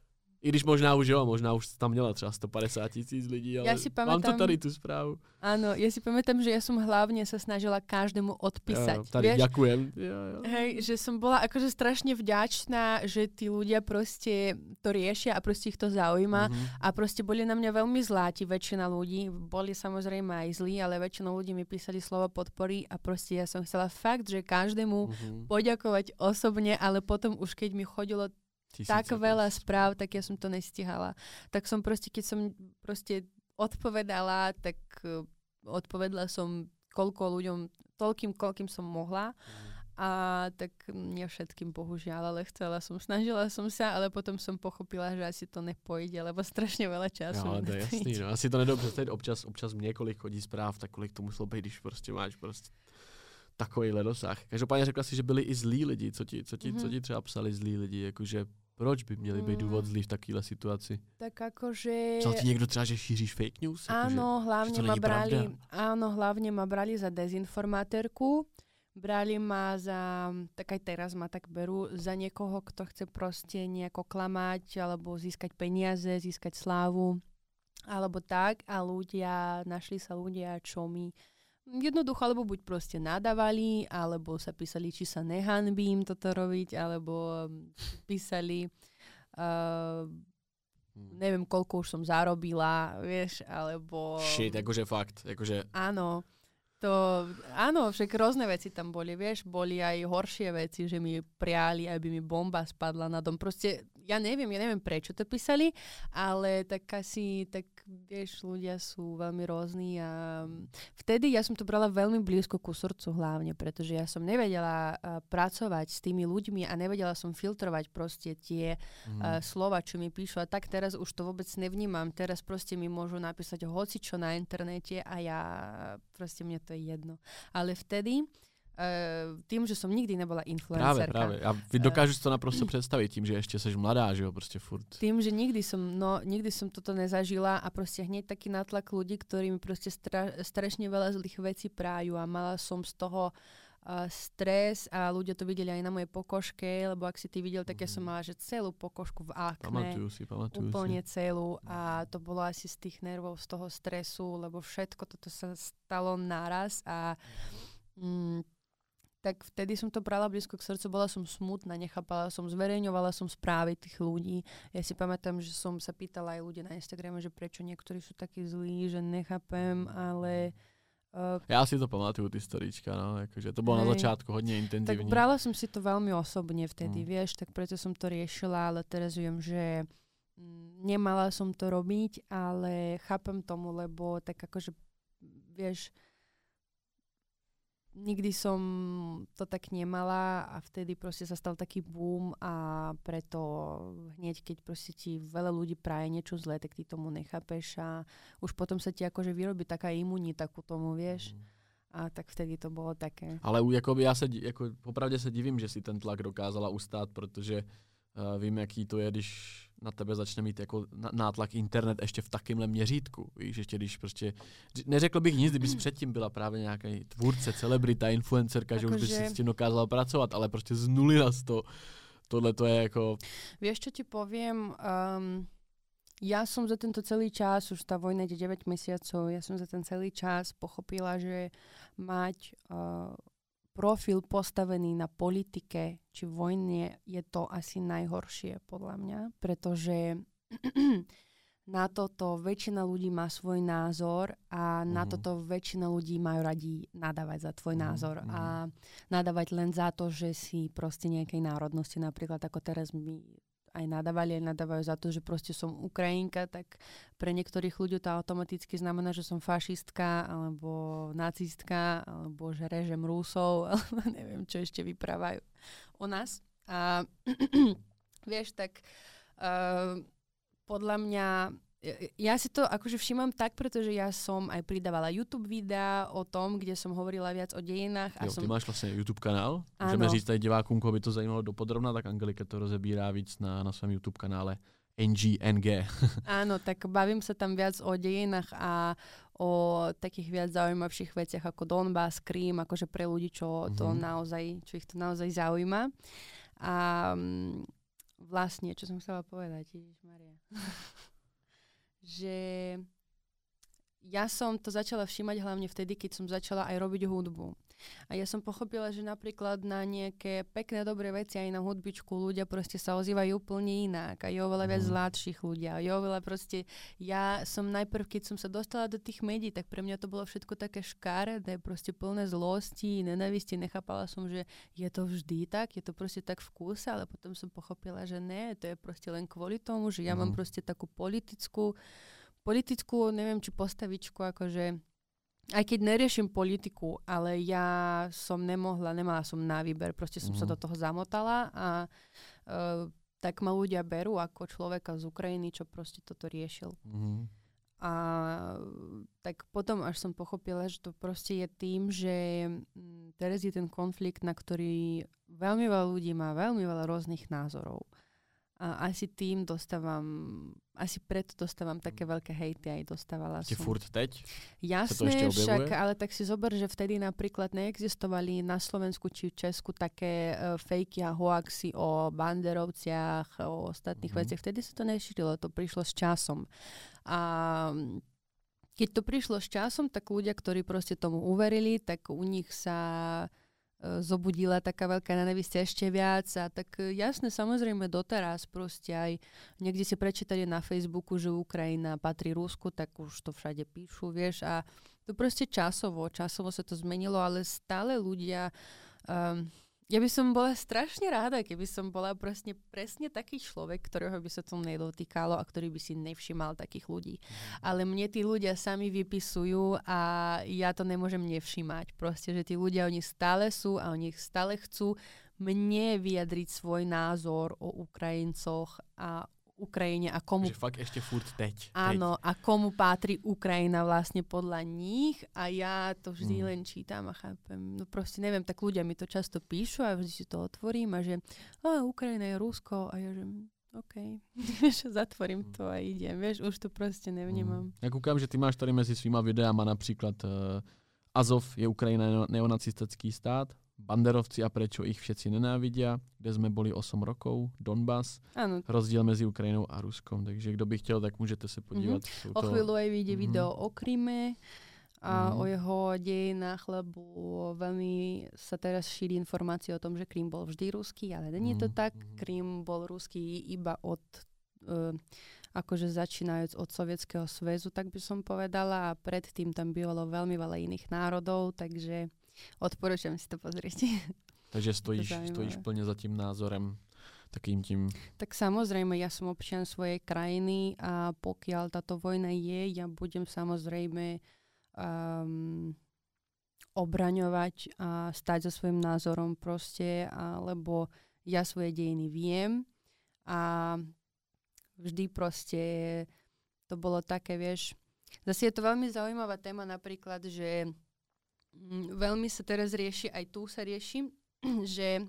I když možná už jo, možná už tam měla třeba sto padesát tisíc lidí, ale ja si pamätám, mám to tady tú správu. Áno, ja si pamätám, že ja som hlavne sa snažila každému odpísať. Jo, tady vieš? Ďakujem. Jo, jo. Hej, že som bola akože strašne vďačná, že tí ľudia proste to riešia a proste ich to zaujíma mm-hmm. a proste boli na mňa veľmi zláti, väčšina ľudí. Boli samozrejme aj zlí, ale väčšina ľudí mi písali slovo podpory a proste ja som chcela fakt, že každému mm-hmm. poďakovať osobne, ale potom už keď mi chodilo Tisíce tak veľa proste. Správ, tak ja som to nestihala. Tak som proste, keď som proste odpovedala, tak uh, odpovedala som koľko ľuďom, toľkým, koľkým som mohla. Mm. A tak nie všetkým bohužiaľ, ale chcela som, snažila som sa, ale potom som pochopila, že asi to nepojde, lebo strašne veľa času. No, to je jasný, no. Asi to nedou představit, občas, občas mně kolik chodí zpráv, tak kolik to muselo být, když prostě máš prostě takovýhle dosah. Každopádně řekla si, že byli i zlí lidi, co ti, co ti, mm-hmm. co ti třeba psali zlí lidi, jakože proč by měli být důvod zlý v takovéhle situaci? Tak akože... Psal ti někdo třeba, že šíříš fake news? Áno, jako, hlavne ma brali, áno, hlavne ma brali za dezinformátérku. Brali ma za, tak aj teraz ma tak berú, za niekoho, kto chce proste nejako klamať, alebo získať peniaze, získať slávu, alebo tak. A ľudia, našli sa ľudia, čo mi jednoducho, alebo buď proste nadávali, alebo sa písali, či sa nehanbím toto robiť, alebo písali, uh, neviem, koľko už som zarobila, vieš, alebo... Shit, akože fakt, akože... Áno, to, áno, však rôzne veci tam boli, vieš, boli aj horšie veci, že mi priali, aby mi bomba spadla na dom. Proste, ja neviem, ja neviem, prečo to písali, ale tak asi, tak vieš, ľudia sú veľmi rôzni a vtedy ja som to brala veľmi blízko ku srdcu hlavne, pretože ja som nevedela uh, pracovať s tými ľuďmi a nevedela som filtrovať proste tie mm. uh, slova, čo mi píšu a tak teraz už to vôbec nevnímam. Teraz proste mi môžu napísať hocičo na internete a ja proste mne to je jedno. Ale vtedy Uh, tým, že som nikdy nebola Práve, influencerka. práve. A vy dokážeš to naprosto predstaviť tým, že ešte seš mladá, že jo, proste furt. Tým, že nikdy som, no, nikdy som toto nezažila a proste hneď taký nátlak ľudí, ktorí mi proste stra- strašne veľa zlých vecí prájú a mala som z toho uh, stres a ľudia to videli aj na mojej pokožke, lebo ak si ty videl, tak ja som mala, že celú pokožku v akne. Pamatujú si, pamatujú úplne si. celú a to bolo asi z tých nervov, z toho stresu, lebo všetko toto sa stalo naraz a mm, tak vtedy som to brala blízko k srdcu, bola som smutná, nechápala som, zverejňovala som správy tých ľudí. Ja si pamätám, že som sa pýtala aj ľudia na Instagrame, že prečo niektorí sú takí zlí, že nechápem, ale... Uh, ja si to pamatuju, ty storíčka, no, akože to bolo hej, na začiatku hodne intenzívne. Tak brala som si to veľmi osobne vtedy, mm. vieš, tak preto som to riešila, ale teraz viem, že nemala som to robiť, ale chápem tomu, lebo tak akože, vieš, nikdy som to tak nemala a vtedy proste sa stal taký boom a preto hneď, keď proste ti veľa ľudí praje niečo zlé, tak ty tomu nechápeš a už potom sa ti akože vyrobí taká imunita ku tomu, vieš. Mm. A tak vtedy to bolo také. Ale jakoby já se, jako, popravdě se divím, že si ten tlak dokázala ustát, protože uh, vím, jaký to je, když na tebe začne mít jako nátlak internet ještě v takýmhle měřítku. Víš, ještě když prostě, neřekl bych nic, kdybys předtím byla právě nějaký tvůrce, celebrita, influencerka, že už bys si s tím dokázala pracovat, ale prostě z nuly na sto. Tohle to je jako... Vieš, čo ti poviem? Um, ja som za tento celý čas, už tá vojna ide deväť mesiacov, ja som za ten celý čas pochopila, že mať uh, profil postavený na politike či vojne je to asi najhoršie podľa mňa, pretože na toto väčšina ľudí má svoj názor a mm. na toto väčšina ľudí majú radi nadávať za tvoj mm. názor mm. a nadávať len za to, že si proste nejakej národnosti, napríklad ako teraz my aj nadávali, aj nadávajú za to, že proste som Ukrajinka, tak pre niektorých ľudí to automaticky znamená, že som fašistka, alebo nacistka, alebo že režem Rusov, alebo neviem, čo ešte vyprávajú o nás. A vieš, tak uh, podľa mňa ja si to akože všímam tak, pretože ja som aj pridávala YouTube videa o tom, kde som hovorila viac o dejinách. A jo, som... ty máš vlastně YouTube kanál? Ano. Můžeme říct tady divákům, koho by to zajímalo dopodrobna, tak Angelika to rozebírá víc na, na svém YouTube kanále N G N G. Áno, tak bavím sa tam viac o dejinách a o takých viac zaujímavších veciach ako Donbass, Krím, akože pre ľudí, čo to mm-hmm. naozaj, čo ich to naozaj zaujíma. A vlastne, čo som chcela povedať, Ježišmaria. že ja som to začala všímať hlavne vtedy, keď som začala aj robiť hudbu. A ja som pochopila, že napríklad na nejaké pekné, dobré veci aj na hudbičku ľudia proste sa ozývajú úplne inak a je oveľa viac zlatších ľudia. Je oveľa proste, ja som najprv, keď som sa dostala do tých médií, tak pre mňa to bolo všetko také škaredé, proste plné zlosti, nenávisti, nechápala som, že je to vždy tak, je to proste tak v kúse, ale potom som pochopila, že ne, to je proste len kvôli tomu, že ja mm. mám proste takú politickú, politickú, neviem, či postavičku, akože aj keď neriešim politiku, ale ja som nemohla, nemala som na výber, proste som mm. sa do toho zamotala a uh, tak ma ľudia berú ako človeka z Ukrajiny, čo proste toto riešil. Mm. A tak potom až som pochopila, že to proste je tým, že teraz je ten konflikt, na ktorý veľmi veľa ľudí má veľmi veľa rôznych názorov. A asi tým dostávam, asi preto dostávam také veľké hejty, aj dostávala som. Ti furt teď? Jasné, však, ale tak si zober, že vtedy napríklad neexistovali na Slovensku či v Česku také uh, fejky a hoaxy o banderovciach, o ostatných mm-hmm. veciach. Vtedy sa to nešírilo, to prišlo s časom. A keď to prišlo s časom, tak ľudia, ktorí proste tomu uverili, tak u nich sa zobudila taká veľká nenávisť ešte viac a tak jasné, samozrejme doteraz proste aj niekde si prečítali na Facebooku, že Ukrajina patrí Rusku, tak už to všade píšu, vieš, a to proste časovo, časovo sa to zmenilo, ale stále ľudia um, ja by som bola strašne ráda, keby som bola presne, presne taký človek, ktorého by sa to nedotýkalo a ktorý by si nevšimal takých ľudí. Mm. Ale mne tí ľudia sami vypisujú a ja to nemôžem nevšimať. Proste, že tí ľudia, oni stále sú a oni stále chcú mne vyjadriť svoj názor o Ukrajincoch a Ukrajine a komu... Že fakt ešte furt teď. Áno, teď. a komu patrí Ukrajina vlastne podľa nich a ja to vždy mm. len čítam a chápem. No proste neviem, tak ľudia mi to často píšu a vždy si to otvorím a že a, Ukrajina je Rusko a ja že OK, zatvorím to a idem, vieš, už to proste nevnímam. Mm. Ja kúkam, že ty máš tady mezi svýma videama napríklad uh, Azov je Ukrajina neonacistický stát, Banderovci a prečo ich všetci nenávidia, kde sme boli osm rokov, Donbas, ano. Rozdiel mezi Ukrajinou a Ruskom. Takže kto by chtěl, tak môžete sa podívať. Mm-hmm. O chvíľu aj vyjde mm-hmm. video o Kryme a mm-hmm. o jeho dejinách, lebo veľmi sa teraz šíri informácie o tom, že Krym bol vždy ruský, ale nie je to tak. Krym bol ruský iba od, uh, akože začínajúc od Sovietskeho zväzu, tak by som povedala, a predtým tam bylo veľmi veľa iných národov, takže odporúčam si to pozrieť. Takže stojíš, stojíš plne za tým názorem, takým tím... Tak samozrejme, ja som občan svojej krajiny a pokiaľ táto vojna je, ja budem samozrejme um, obraňovať a stať za svojím názorom proste, lebo ja svoje dejiny viem a vždy proste to bolo také, vieš... Zase je to veľmi zaujímavá téma napríklad, že veľmi sa teraz rieši, aj tu sa rieši, že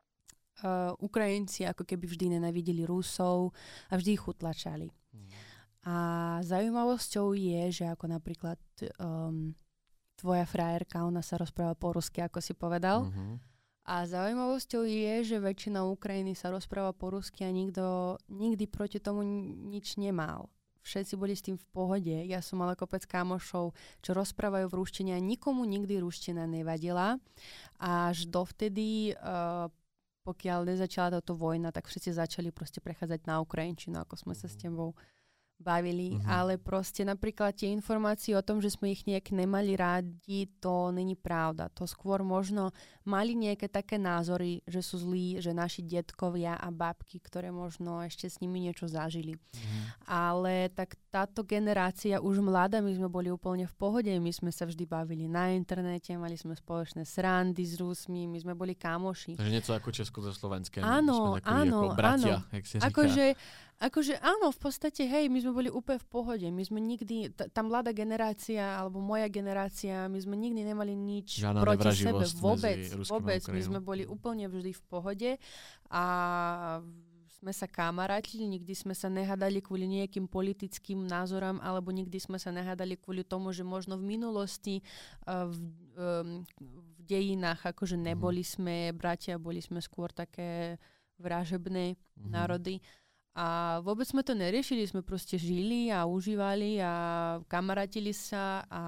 uh, Ukrajinci ako keby vždy nenávideli Rusov a vždy ich utlačali. Mm. A zaujímavosťou je, že ako napríklad um, tvoja frajerka, ona sa rozpráva po rusky, ako si povedal. Mm-hmm. A zaujímavosťou je, že väčšina Ukrajiny sa rozpráva po rusky a nikto nikdy proti tomu nič nemal. Všetci boli s tým v pohode. Ja som mala kopec kamošov, čo rozprávajú v ruštine a nikomu nikdy ruština nevadila. Až dovtedy, uh, pokiaľ nezačala táto vojna, tak všetci začali proste prechádzať na ukrajinčinu, ako sme sa s tebou bavili. Mm-hmm. Ale proste napríklad tie informácie o tom, že sme ich nejak nemali rádi, to není pravda. To skôr možno mali nejaké také názory, že sú zlí, že naši detkovia a babky, ktoré možno ešte s nimi niečo zažili. Mm-hmm. Ale tak táto generácia už mladá, my sme boli úplne v pohode, my sme sa vždy bavili na internete, mali sme spoločné srandy s Rusmi, my sme boli kámoši. Takže niečo ako Česko so Slovenskem. Áno, áno, ako bratia, áno. jak si říká. Akože, akože áno, v podstate, hej, my sme boli úplne v pohode. My sme nikdy, t- tá mladá generácia, alebo moja generácia, my sme nikdy nemali nič Žiadna proti sebe. Vôbec, vôbec. My sme boli úplne vždy v pohode a sme sa kamarátili, nikdy sme sa nehádali kvôli nejakým politickým názorom, alebo nikdy sme sa nehádali kvôli tomu, že možno v minulosti uh, v, um, v dejinách akože neboli sme bratia, boli sme skôr také vražebné mm-hmm. národy. A vôbec sme to neriešili, sme proste žili a užívali a kamarátili sa a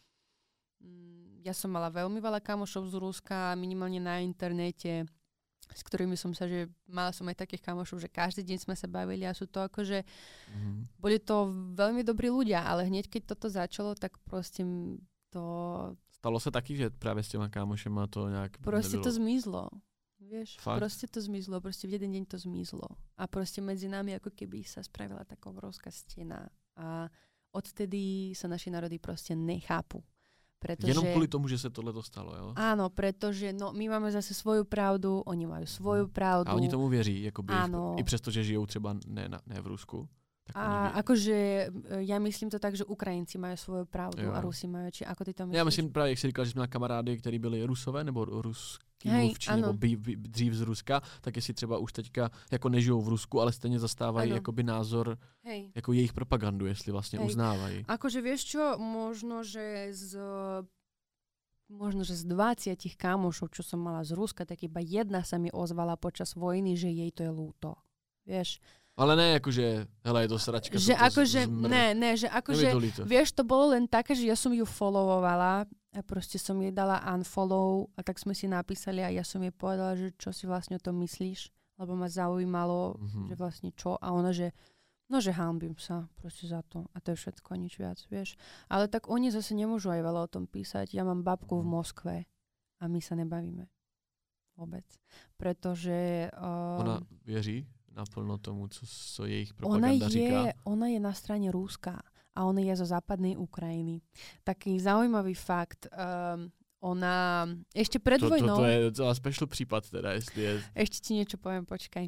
ja som mala veľmi veľa kamošov z Ruska, minimálne na internete, s ktorými som sa, že mala som aj takých kamošov, že každý deň sme sa bavili a sú to akože, mm-hmm. boli to veľmi dobrí ľudia, ale hneď keď toto začalo, tak proste to... Stalo sa taky, že práve s těma kámošema to nejak... Proste nebylo... to zmizlo. Vieš, Fakt? proste to zmizlo, proste v jeden deň to zmizlo. A proste medzi nami ako keby sa spravila taká obrovská stena. A odtedy sa naši národy proste nechápu. Pretože, jenom kvôli tomu, že sa tohle dostalo, jo? Áno, pretože no, my máme zase svoju pravdu, oni majú svoju pravdu. A oni tomu věří, jakoby, áno. i přesto, že žijou třeba ne, ne v Rusku. Tak a akože ja myslím to tak, že Ukrajinci majú svoju pravdu jo. A Rusi majú, či ako ty to myslíš? Já myslím právě, jak jsi říkal, že jsme na kamarády, který byli Rusové nebo ruský mluvčí, nebo by, by, dřív z Ruska, tak jestli třeba už teďka jako nežijou v Rusku, ale stejně zastávají jakoby názor, Hej. jako jejich propagandu, jestli vlastně Hej. uznávají. Akože vieš čo, možno, že z možno, že z dvadsiatich kamošov, čo som mala z Ruska, tak iba jedna sa mi ozvala počas vojny, že jej to je ľúto. Vieš? Ale ne, akože, hele, je to sračka. Že akože, ne, ne, že akože, vieš, to bolo len také, že ja som ju followovala a proste som jej dala unfollow a tak sme si napísali a ja som jej povedala, že čo si vlastne o tom myslíš, lebo ma zaujímalo, mm-hmm. že vlastne čo a ona, že no, že hanbím sa proste za to a to je všetko, nič viac, vieš. Ale tak oni zase nemôžu aj veľa o tom písať. Ja mám babku mm-hmm. v Moskve a my sa nebavíme vôbec, pretože... Um, ona věří naplno tomu, co, co jejich propaganda ona je, říká? Ona je na strane Ruska a ona je zo západnej Ukrajiny. Taký zaujímavý fakt. Um, ona ešte pred to, vojnou... To, to je celá special případ teda, jestli je... Ešte ti niečo poviem, počkaj.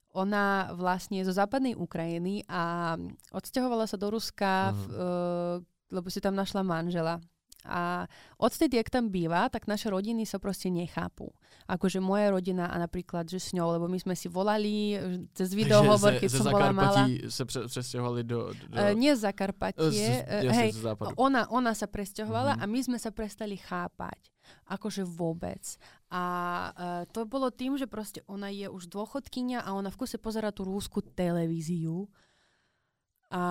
ona vlastne je zo západnej Ukrajiny a odsťahovala sa do Ruska, v, uh, lebo si tam našla manžela. A odtedy, jak tam býva, tak naše rodiny sa proste nechápu. Akože moja rodina a napríklad, že s ňou, lebo my sme si volali cez videohovor, keď som bola malá. sa pre, presťahovali do... do... Uh, nie z Zakarpatie. Z, uh, hej, ona, ona sa presťahovala mm-hmm. a my sme sa prestali chápať. Akože vôbec. A uh, to bolo tým, že proste ona je už dôchodkyňa a ona v kuse pozerá tú rúsku televíziu. A...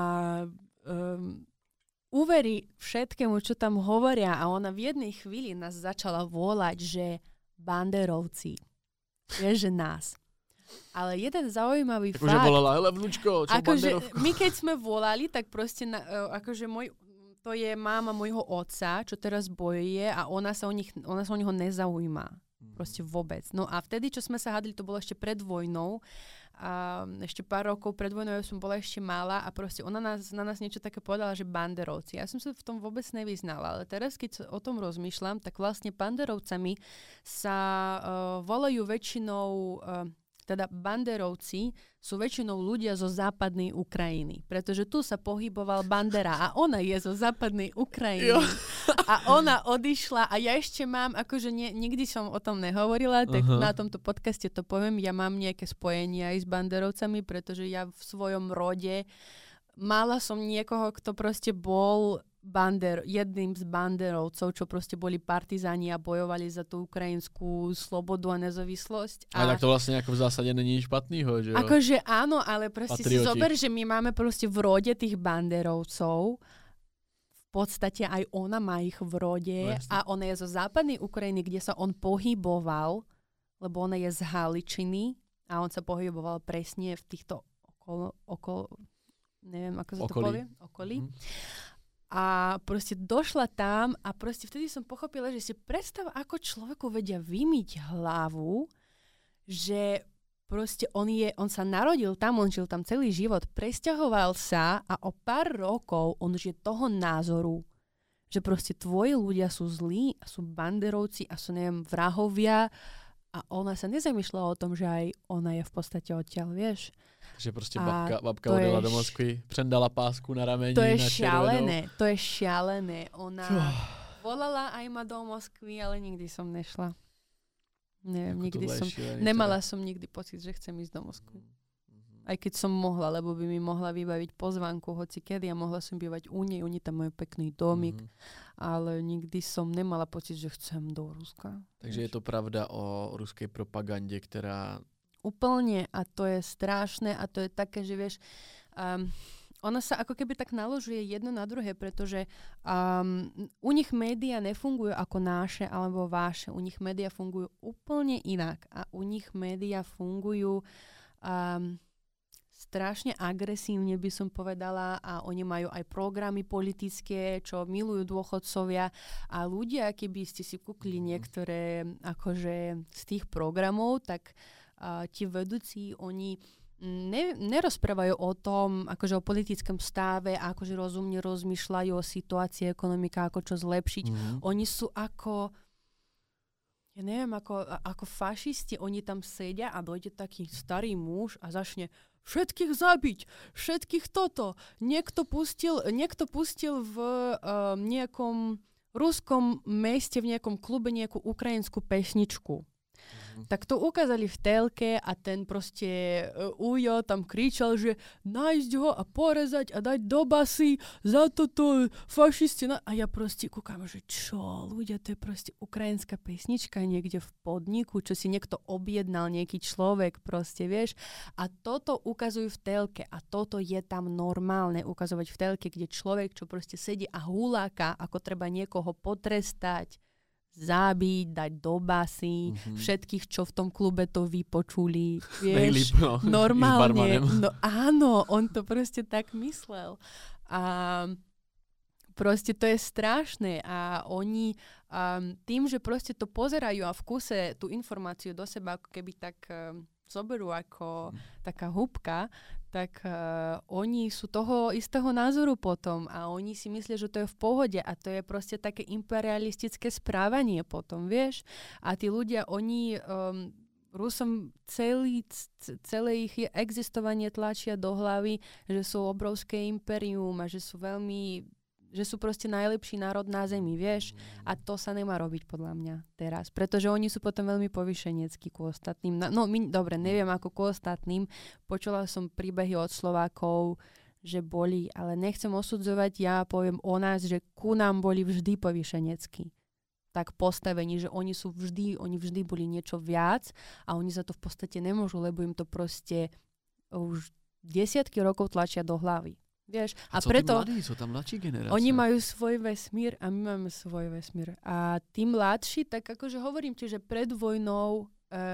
Um, uverí všetkému, čo tam hovoria a ona v jednej chvíli nás začala volať, že banderovci. Vieš, že nás. Ale jeden zaujímavý tak fakt... Akože volala, hele vnúčko, čo akože banderovku? My keď sme volali, tak proste na, akože môj, to je máma môjho otca, čo teraz bojuje a ona sa o, nich, ona sa o neho nezaujíma. Proste vôbec. No a vtedy, čo sme sa hádali, to bolo ešte pred vojnou. A ešte pár rokov pred vojnou ja som bola ešte malá a proste ona nás, na nás niečo také povedala, že banderovci. Ja som sa v tom vôbec nevyznala, ale teraz, keď o tom rozmýšľam, tak vlastne banderovcami sa uh, volajú väčšinou... Uh, teda banderovci sú väčšinou ľudia zo západnej Ukrajiny, pretože tu sa pohyboval Bandera a ona je zo západnej Ukrajiny. Jo. A ona odišla a ja ešte mám, akože nie, nikdy som o tom nehovorila, tak uh-huh. na tomto podcaste to poviem, ja mám nejaké spojenie aj s banderovcami, pretože ja v svojom rode mala som niekoho, kto proste bol bander, jedným z banderovcov, čo proste boli partizáni a bojovali za tú ukrajinskú slobodu a nezávislosť. A ale tak to vlastne ako v zásade není špatnýho, že jo? Akože áno, ale proste Patrioti. Si zober, že my máme proste v rode tých banderovcov. V podstate aj ona má ich v rode no, a ona je zo západnej Ukrajiny, kde sa on pohyboval, lebo ona je z Haličiny a on sa pohyboval presne v týchto okolo, okolo neviem, ako sa okolí. to povie? Okolí. Mm-hmm. A proste došla tam a proste vtedy som pochopila, že si predstav, ako človeku vedia vymyť hlavu, že proste on, je, on sa narodil tam, on žil tam celý život, presťahoval sa a o pár rokov on už je toho názoru, že proste tvoji ľudia sú zlí a sú banderovci a sú, neviem, vrahovia a ona sa nezamýšľala o tom, že aj ona je v podstate odtiaľ, vieš. Že proste babka, babka odjela do Moskvy, přendala pásku na rameni. To je na šialené, to je šialené. Ona oh. volala aj ma do Moskvy, ale nikdy som nešla. Neviem, ako nikdy som, šialený, nemala teda. Som nikdy pocit, že chcem ísť do Moskvy. Mm-hmm. Aj keď som mohla, lebo by mi mohla vybaviť pozvánku hoci kedy a mohla som bývať u nej, oni tam majú pekný domik, mm-hmm. ale nikdy som nemala pocit, že chcem do Ruska. Takže je to pravda o ruskej propagande, ktorá... Úplne a to je strašné a to je také, že vieš, um, ona sa ako keby tak naložuje jedno na druhé, pretože um, u nich médiá nefungujú ako naše alebo vaše, u nich médiá fungujú úplne inak a u nich médiá fungujú um, strašne agresívne, by som povedala, a oni majú aj programy politické, čo milujú dôchodcovia a ľudia, keby ste si kúkli niektoré akože z tých programov, tak Uh, ti vedúci, oni ne, nerozprávajú o tom, akože o politickom stave, akože rozumne rozmýšľajú o situácii ekonomika, ako čo zlepšiť. Mm-hmm. Oni sú ako, ja neviem, ako, ako fašisti, oni tam sedia a dojde taký starý muž a začne všetkých zabiť, všetkých toto. Niekto pustil, niekto pustil v uh, nejakom ruskom meste, v nejakom klube nejakú ukrajinskú pesničku. Tak to ukázali v telke a ten proste uh, ujo tam kričal, že nájsť ho a porezať a dať do basy za toto fašisti. Na... A ja proste kúkam, že čo, ľudia, to je proste ukrajinská pesnička niekde v podniku, čo si niekto objednal, nejaký človek proste, vieš. A toto ukazujú v telke a toto je tam normálne ukazovať v telke, kde človek, čo proste sedí a huláka, ako treba niekoho potrestať, zabiť, dať do basy, mm-hmm. všetkých, čo v tom klube to vypočuli. Vieš, no, normálne. No áno, on to proste tak myslel. A proste to je strašné. A oni um, tým, že proste to pozerajú a v kuse tú informáciu do seba ako keby tak um, zoberú ako mm. taká húbka, tak uh, oni sú toho istého názoru potom a oni si myslia, že to je v pohode a to je proste také imperialistické správanie potom, vieš. A tí ľudia, oni um, Rusom celý, celé ich existovanie tlačia do hlavy, že sú obrovské impérium a že sú veľmi, že sú proste najlepší národ na zemi, vieš? A to sa nemá robiť podľa mňa teraz, pretože oni sú potom veľmi povyšeneckí ku ostatným. No, my, dobre, neviem ako ku ostatným. Počula som príbehy od Slovákov, že boli, ale nechcem osudzovať, ja poviem o nás, že ku nám boli vždy povyšeneckí. Tak postavení, že oni sú vždy, oni vždy boli niečo viac a oni za to v podstate nemôžu, lebo im to proste už desiatky rokov tlačia do hlavy. Vieš? A, a preto tí mladí, sú tam mladší generácie? Oni majú svoj vesmír a my máme svoj vesmír. A tí mladší, tak akože hovorím ti, že pred vojnou um,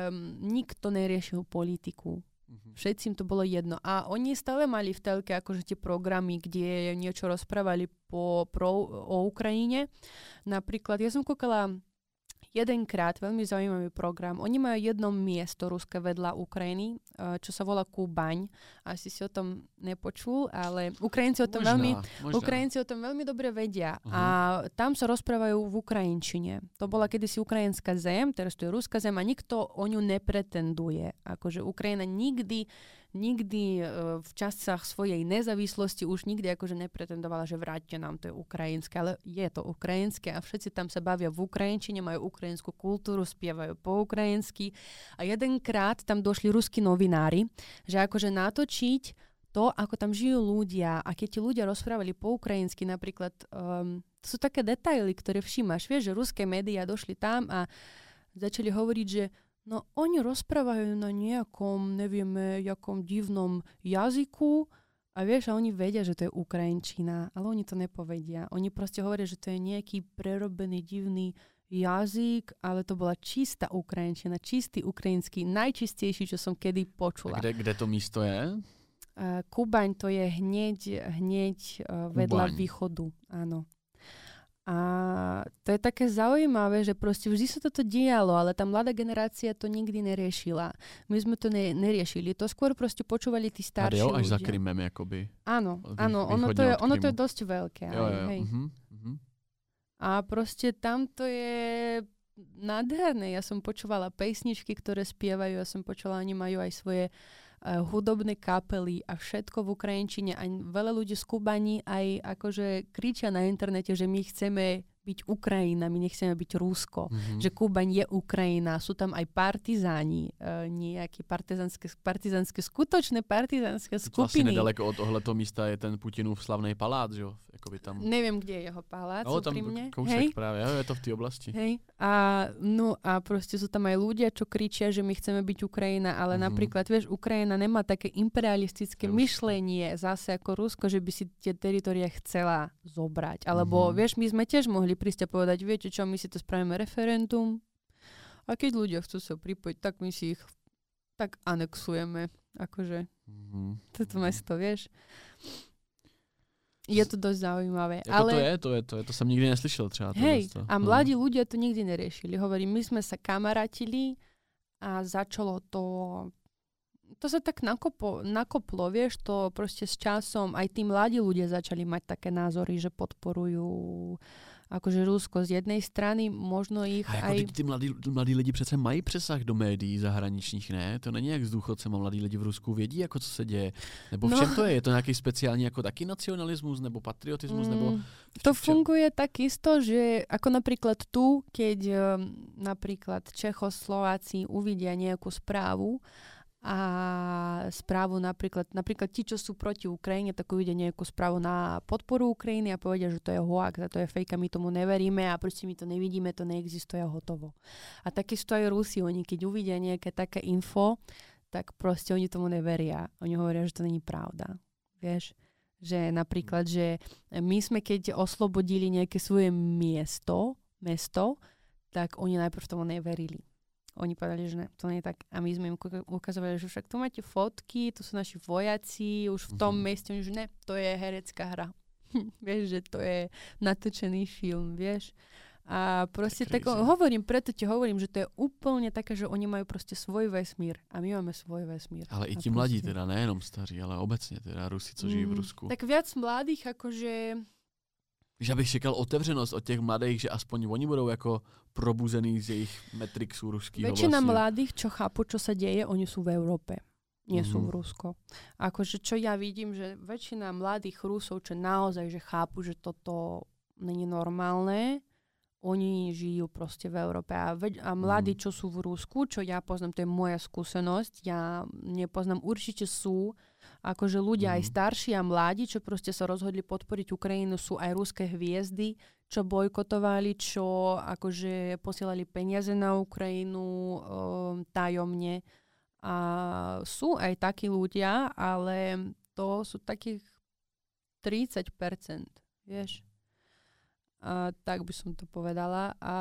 nikto neriešil politiku. Všetci im to bolo jedno. A oni stále mali v telke akože tie programy, kde niečo rozprávali po, pro, o Ukrajine. Napríklad, ja som kúkala jedenkrát, veľmi zaujímavý program. Oni majú jedno miesto ruské vedľa Ukrajiny, čo sa volá Kubaň. Asi si o tom nepočul, ale Ukrajinci o tom, možná, veľmi, možná. Ukrajinci o tom veľmi dobre vedia. Uh-huh. A tam sa rozprávajú v ukrajinčine. To bola kedysi ukrajinská zem, teraz to je ruská zem a nikto o ňu nepretenduje. Akože Ukrajina nikdy nikdy uh, v časách svojej nezávislosti už nikdy akože nepretendovala, že vráťte nám, to je ukrajinské, ale je to ukrajinské a všetci tam sa bavia v ukrajinčine, majú ukrajinskú kultúru, spievajú po ukrajinsky a jedenkrát tam došli ruskí novinári, že akože natočiť to, ako tam žijú ľudia a keď ti ľudia rozprávali po ukrajinsky napríklad, um, to sú také detaily, ktoré všímaš, vieš, že ruské médiá došli tam a začali hovoriť, že no oni rozprávajú na nejakom, nevieme, jakom divnom jazyku a vieš, a oni vedia, že to je ukrajinčina, ale oni to nepovedia. Oni proste hovoria, že to je nejaký prerobený divný jazyk, ale to bola čistá ukrajinčina, čistý ukrajinský, najčistejší, čo som kedy počula. A kde, kde to místo je? Uh, Kubaň to je hneď, hneď uh, vedľa Kubaň. východu, áno. A to je také zaujímavé, že proste vždy sa toto dialo, ale tá mladá generácia to nikdy neriešila. My sme to ne, neriešili. To skôr proste počúvali tí starší ľudia. A jo, až ľudia. za Krymem, jakoby. Áno, Vý, áno, ono to, je, ono to je dosť veľké. Jo, aj, jo, hej. uh-huh, uh-huh. A proste tam to je nádherné. Ja som počúvala pesničky, ktoré spievajú, ja som počula, oni majú aj svoje Uh, hudobné kapely a všetko v ukrajinčine. A veľa ľudí z Kubani aj akože kričia na internete, že my chceme byť Ukrajina, my nechceme byť Rusko. Mm-hmm. Že Kubaň je Ukrajina. Sú tam aj partizáni, uh, nejaké partizánske, partizánske, skutočné partizánske skupiny. Vlastne nedaleko od tohleto místa je ten Putinův slavný palác, že jo? Jakoby tam... Neviem, kde je jeho palác, no, tam úprimne. Kousek Hej? práve, jo, je to v tej oblasti. Hej. A, no a proste sú tam aj ľudia, čo kričia, že my chceme byť Ukrajina, ale mm-hmm. napríklad, vieš, Ukrajina nemá také imperialistické Rusko. myšlenie zase ako Rusko, že by si tie teritoria chcela zobrať. Alebo, mm-hmm. vieš, my sme tiež mohli prísť a povedať, viete čo, my si to spravíme referendum a keď ľudia chcú sa pripojiť, tak my si ich tak anexujeme. Akože, mm-hmm. toto mesto, vieš. Je to dosť zaujímavé. Jako ale... to je, to je, to je, to som nikdy neslyšel třeba. Hej, a mladí ľudia to nikdy neriešili. Hovorím, my sme sa kamarátili a začalo to to sa tak nakopo, nakoplo, vieš, to proste s časom aj tí mladí ľudia začali mať také názory, že podporujú akože Rusko z jednej strany, možno ich a aj... Jako ty, ty mladí, mladí lidi přece mají přesah do médií zahraničních, ne? To není jak s důchodcem a mladí lidi v Rusku vědí, jako co se děje. Nebo v čem no, to je? Je to nějaký speciální jako taky nacionalismus nebo patriotismus? Mm, nebo to funguje takisto, že ako napríklad tu, keď um, napríklad Čechoslováci uvidia nejakú správu a správu napríklad, napríklad ti, čo sú proti Ukrajine, tak uvidia nejakú správu na podporu Ukrajiny a povedia, že to je hoax a to je fake a my tomu neveríme a proste my to nevidíme, to neexistuje a hotovo. A takisto aj Rusi, oni keď uvidia nejaké také info, tak proste oni tomu neveria. Oni hovoria, že to není pravda. Vieš? Že napríklad, že my sme keď oslobodili nejaké svoje miesto, mesto, tak oni najprv tomu neverili. Oni povedali, že ne, to nie je tak. A my sme im ukazovali, že však tu máte fotky, tu sú naši vojaci, už v tom mm-hmm. meste, že ne, to je herecká hra. Vieš, že to je natočený film, vieš. A proste tak, tak hovorím, preto ti hovorím, že to je úplne také, že oni majú proste svoj vesmír a my máme svoj vesmír. Ale i ti mladí teda, nejenom starí, ale obecne teda Rusi, co žijú v Rusku. Tak viac mladých, akože Že abych čekal otevřenost od těch mladých, že aspoň oni budou jako probuzený z jejich Matrixu ruského. Väčšina vlastne. mladých, čo chápu, čo sa deje, oni sú v Európe. Nie Mhm. sú v Rusko. Akože čo ja vidím, že väčšina mladých Rusov, čo naozaj, že chápu, že toto není normálne, oni žijú proste v Európe. A, veď, a mladí, čo sú v Rusku, čo ja poznám, to je moja skúsenosť, ja nepoznám, určite sú akože ľudia Mhm. aj starší a mladí, čo proste sa rozhodli podporiť Ukrajinu, sú aj ruské hviezdy, čo bojkotovali, čo akože posielali peniaze na Ukrajinu um, tajomne. A sú aj takí ľudia, ale to sú takých tridsať percent, vieš. A tak by som to povedala. A,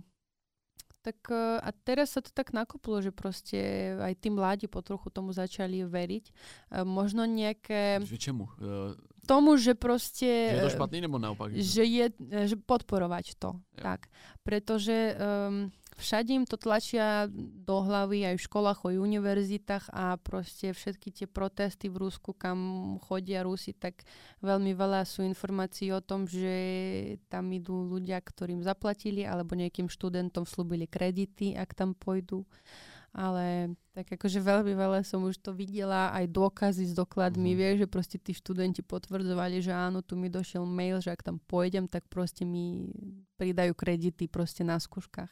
tak, a teraz sa to tak nakoplo, že proste aj tí mladí potrochu tomu začali veriť. A možno nejaké... Že čemu? Uh, tomu, že proste... že je to špatný nebo naopak? Že je, že podporovať to. Jo. Tak. Pretože um, všade im to tlačia do hlavy aj v školách, aj v univerzitách a proste všetky tie protesty v Rusku, kam chodia Rusi, tak veľmi veľa sú informácií o tom, že tam idú ľudia, ktorým zaplatili, alebo nejakým študentom slúbili kredity, ak tam pôjdu. Ale tak akože veľmi veľa som už to videla, aj dôkazy s dokladmi, Mhm. vieš, že proste tí študenti potvrdzovali, že áno, tu mi došiel mail, že ak tam pôjdem, tak proste mi pridajú kredity proste na skúškach.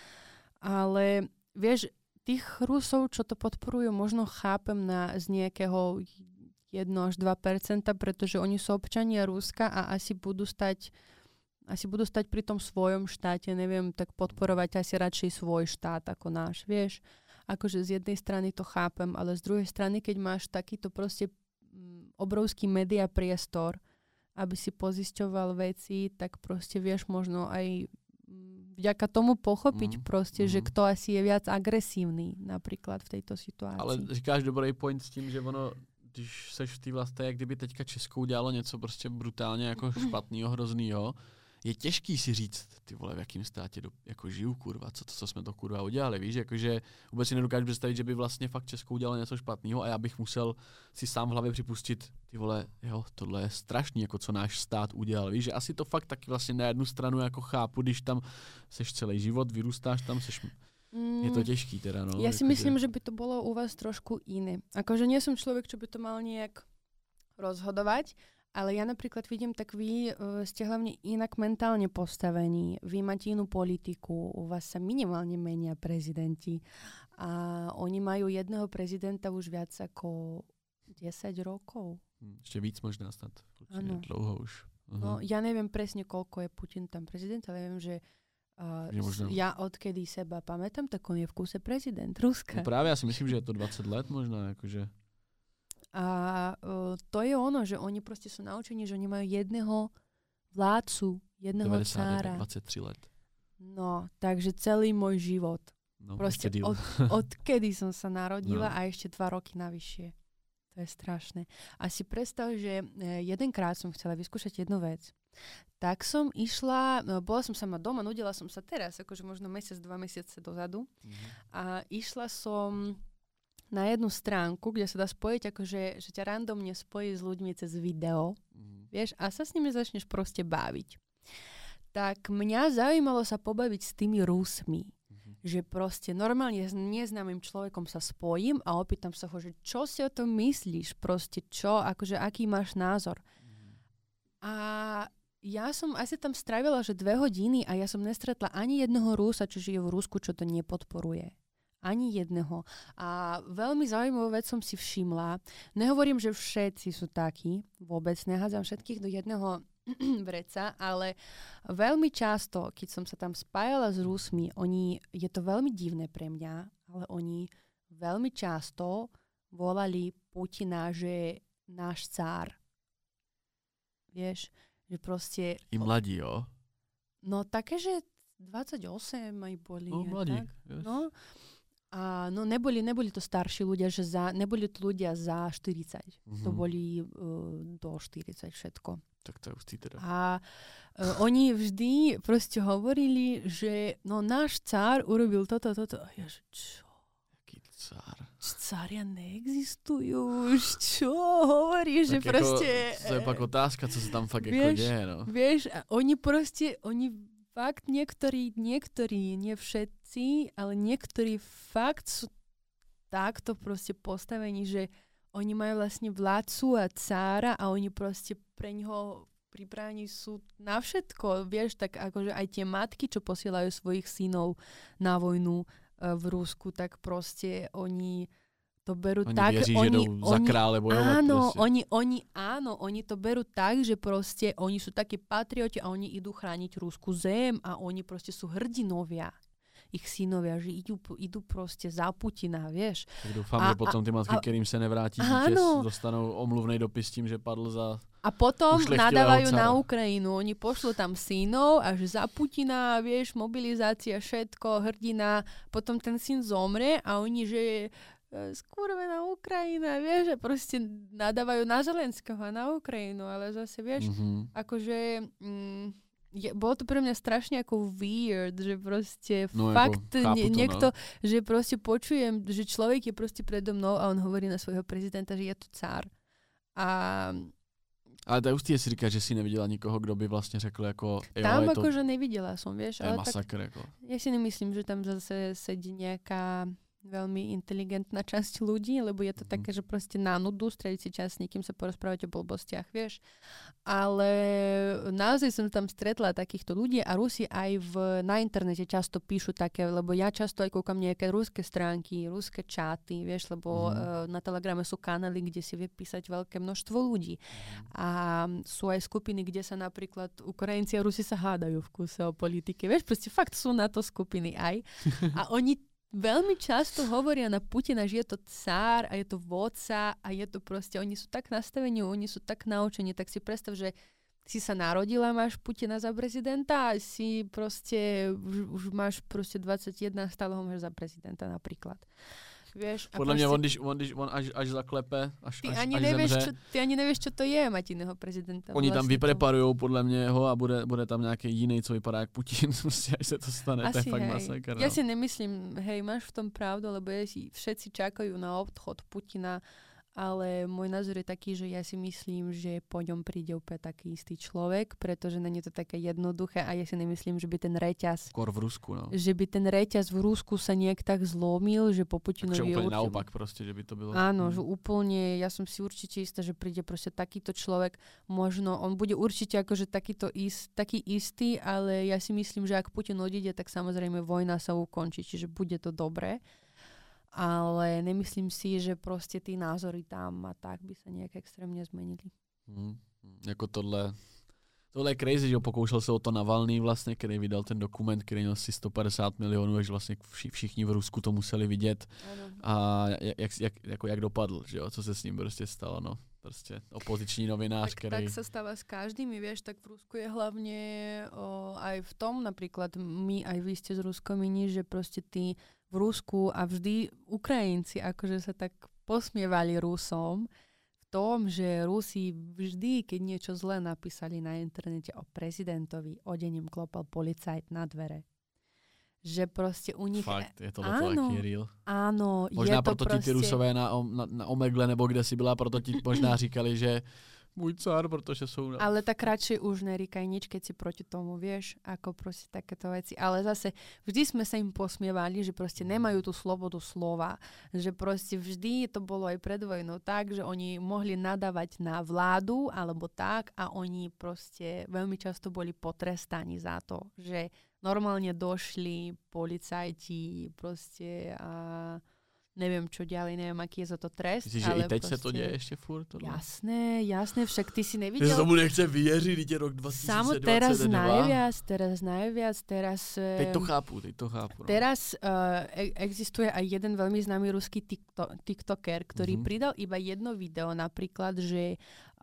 Ale vieš, tých Rusov, čo to podporujú, možno chápem na, z nejakého jedno až dva percentá, pretože oni sú občania Ruska a asi budú stať asi budú stať pri tom svojom štáte, neviem, tak podporovať asi radšej svoj štát ako náš, vieš. Akože z jednej strany to chápem, ale z druhej strany, keď máš takýto proste obrovský media priestor, aby si pozisťoval veci, tak proste vieš možno aj vďaka tomu pochopiť Mm, proste, mm. že kto asi je viac agresívny napríklad v tejto situácii. Ale říkáš dobrý point s tím, že ono, když seš v té vlasti, jak kdyby teďka Česko udělalo něco prostě brutálně jako špatného, hroznýho, je těžký si říct, ty vole, v jakým státě do, jako žiju, kurva, co to, co jsme to kurva udělali, víš, jakože vůbec si nedokážu představit, že by vlastně fakt Česko udělalo něco špatného a já bych musel si sám v hlavě připustit, ty vole, jo, tohle je strašný, jako co náš stát udělal, víš, že asi to fakt taky vlastně na jednu stranu jako chápu, když tam seš celý život, vyrůstáš tam, seš... Je to těžký teda, no. Ja si akože... myslím, že by to bolo u vás trošku iné. Akože nie som človek, čo by to mal nejak rozhodovať, ale ja napríklad vidím, tak vy uh, ste hlavne inak mentálne postavení. Vy máte inú politiku, u vás sa minimálne menia prezidenti a oni majú jedného prezidenta už viac ako desať rokov. Ešte víc možná snad. Áno. Dlouho už. Uh-huh. No, ja neviem presne, koľko je Putin tam prezident, ale viem, že uh, možno... ja odkedy seba pamätám, tak on je v kúse prezident Ruska. No právě, já si myslím, že je to dvacet let možná, jakože. A uh, to je ono, že oni proste sú naučení, že oni majú jedného vládcu, jedného cára. dvacet tři let. No, takže celý môj život. No, Proste od, odkedy som sa narodila no. A ešte dva roky navyššie. To je strašné. A si predstav, že jedenkrát som chcela vyskúšať jednu vec. Tak som išla, no, bola som sama doma, nudila som sa teraz, akože možno mesiac, dva mesiace dozadu. Mm-hmm. A išla som na jednu stránku, kde sa dá spojiť, akože, že ťa randomne spojí s ľuďmi cez video, mm. vieš, a sa s nimi začneš proste baviť. Tak mňa zaujímalo sa pobaviť s tými Rusmi, mm. že proste normálne s neznámym človekom sa spojím a opýtam sa ho, že čo si o tom myslíš, proste čo, akože aký máš názor. Mm. A ja som asi tam strávila, že dve hodiny a ja som nestretla ani jedného Rusa, čo žije v Rusku, čo to nepodporuje. Ani jedného. A veľmi zaujímavú vec som si všimla. Nehovorím, že všetci sú takí. Vôbec nehádzam všetkých do jedného vreca, ale veľmi často, keď som sa tam spájala s Rusmi, oni, je to veľmi divné pre mňa, ale oni veľmi často volali Putina, že náš cár. Vieš, že proste... I mladí, jo? No také, že dvadsaťosem aj boli. No, mladí. Tak? Yes. No. A no neboli, neboli to starší ľudia, že za, neboli to ľudia za štyridsať. Mm-hmm. To boli uh, do štyridsať všetko. Tak to je už teda. A uh, oni vždy proste hovorili, že no náš cár urobil toto, toto. A ja, že čo? Jaký cár? cária neexistujú už, čo hovoríš, že jako, proste... To je pak otázka, co sa tam fakt vieš, jako deje, no. Vieš, a oni proste, oni fakt niektorí, niektorí, nie všetci, ale niektorí fakt sú takto proste postavení, že oni majú vlastne vládcu a cára a oni proste pre ňoho pripravení sú na všetko. Vieš, tak akože aj tie matky, čo posielajú svojich synov na vojnu uh, v Rusku, tak proste oni to berú oni tak... Věří, oni že oni za krále bojovať. Áno, proste. oni, oni, áno, oni to berú tak, že proste oni sú takí patrioti a oni idú chrániť Rusku zem a oni proste sú hrdinovia. Ich synovia, že idú, idú proste za Putina, vieš. Tak doufám, a, že potom ty matky, a, kterým se nevrátí áno. dítě, dostanou omluvnej dopis tím, že padl za... A potom nadávajú cara. na Ukrajinu. Oni pošlú tam synov až za Putina, vieš, mobilizácia, všetko, hrdina. Potom ten syn zomre a oni, že skurvená Ukrajina, vieš, že proste nadávajú na Zelenského a na Ukrajinu, ale zase, vieš, mm-hmm. akože... Mm, Je, bolo to pre mňa strašne ako weird, že proste no, fakt ako, nie, to, niekto, no. že proste počujem, že človek je proste predo mnou a on hovorí na svojho prezidenta, že je to cár. A... Ale to je ústý, si říká, že si neviděla nikoho, kdo by vlastně řekl jako... Tam jo, akože to, nevidela som, vieš. je ale masakr, tak, jako. Ja si nemyslím, že tam zase sedí nejaká veľmi inteligentná časť ľudí, lebo je to mm. také, že proste na nudu strediť si čas s niekým sa porozprávať o blbostiach, vieš. Ale naozaj som tam stretla takýchto ľudí a Rusi aj v, na internete často píšu také, lebo ja často aj kúkam nejaké ruské stránky, ruské čáty, vieš, lebo mm. uh, na Telegrame sú kanály, kde si vie písať veľké množstvo ľudí. Mm. A sú aj skupiny, kde sa napríklad Ukrajinci a Rusi sa hádajú v kúse o politike. Vieš, proste fakt sú na to skupiny aj. A oni veľmi často hovoria na Putina, že je to cár a je to vodca a je to proste, oni sú tak nastavení, oni sú tak naučení, tak si predstav, že si sa narodila, máš Putina za prezidenta a si proste, už, už máš proste dvadsaťjeden a stále ho máš za prezidenta napríklad. Vieš, Podľa mňa on, když, on, když on až, až zaklepe, až, ty až, ani až nevieš, zemře, čo, ty ani nevieš, čo to je mať iného prezidenta. Oni vlastne tam vypreparujou podle mě ho a bude, bude tam nějaký jiný, co vypadá jak Putin, prostě, až se to stane, Asi, to je fakt hej. masakr. Ja no. si nemyslím, hej, máš v tom pravdu, lebo je, všetci čakajú na odchod Putina, ale môj názor je taký, že ja si myslím, že po ňom príde úplne taký istý človek, pretože není to také jednoduché a ja si nemyslím, že by ten reťaz... Skôr v Rusku, no. Že by ten reťaz v Rusku sa nejak tak zlomil, že po Putinovi... Takže úplne určite... naopak proste, že by to bylo... Áno, že úplne, ja som si určite istá, že príde proste takýto človek, možno, on bude určite akože takýto ist, taký istý, ale ja si myslím, že ak Putin odíde, tak samozrejme vojna sa ukončí, čiže bude to dobré. Ale nemyslím si, že proste tí názory tam a tak by sa nejak extrémne zmenili. Hmm. Jako tohle, tohle je crazy, že pokoušel se o to Navalný vlastně, který vydal ten dokument, který měl asi sto padesát milionů, takže vlastně vši, všichni v Rusku to museli vidět. Ano. A jak, jak, jako jak dopadl, že jo, co se s ním prostě stalo, no. Prostě opoziční novinář, tak, který... Tak sa stáva s každým, vieš, tak v Rusku je hlavne o, aj v tom, napríklad my, aj vy ste z Ruskomini, že proste tí v Rusku a vždy Ukrajinci akože sa tak posmievali Rusom v tom, že Rusi vždy, keď niečo zlé napísali na internete o prezidentovi, odeň im klopal policajt na dvere. Že proste u nich... Fakt, je to taký real. Áno, možná je to proto proste... ti ty Rusové na, na, na Omegle, nebo kde si byla, proto ti možná říkali, že môj cár, protože sú... Ale tak radšej už neríkaj nič, keď si proti tomu, vieš, ako proste takéto veci. Ale zase vždy sme sa im posmievali, že proste nemajú tú slobodu slova. Že proste vždy to bolo aj pred vojnou tak, že oni mohli nadávať na vládu alebo tak a oni proste veľmi často boli potrestaní za to, že normálne došli policajti proste a neviem čo ďalej, neviem aký je za to trest. Myslíš, že i teď proste... sa to deje ešte furt? Tohle? Jasné, jasné, však ty si nevidel. Že tomu nechce vyjeriť, ide rok dvadsaťdvadsaťdva. Samo teraz najviac, teraz najviac, teraz... Teď to chápu, teď to chápu. No. Teraz uh, existuje aj jeden veľmi známy ruský tikto- tiktoker, ktorý mm-hmm. pridal iba jedno video, napríklad, že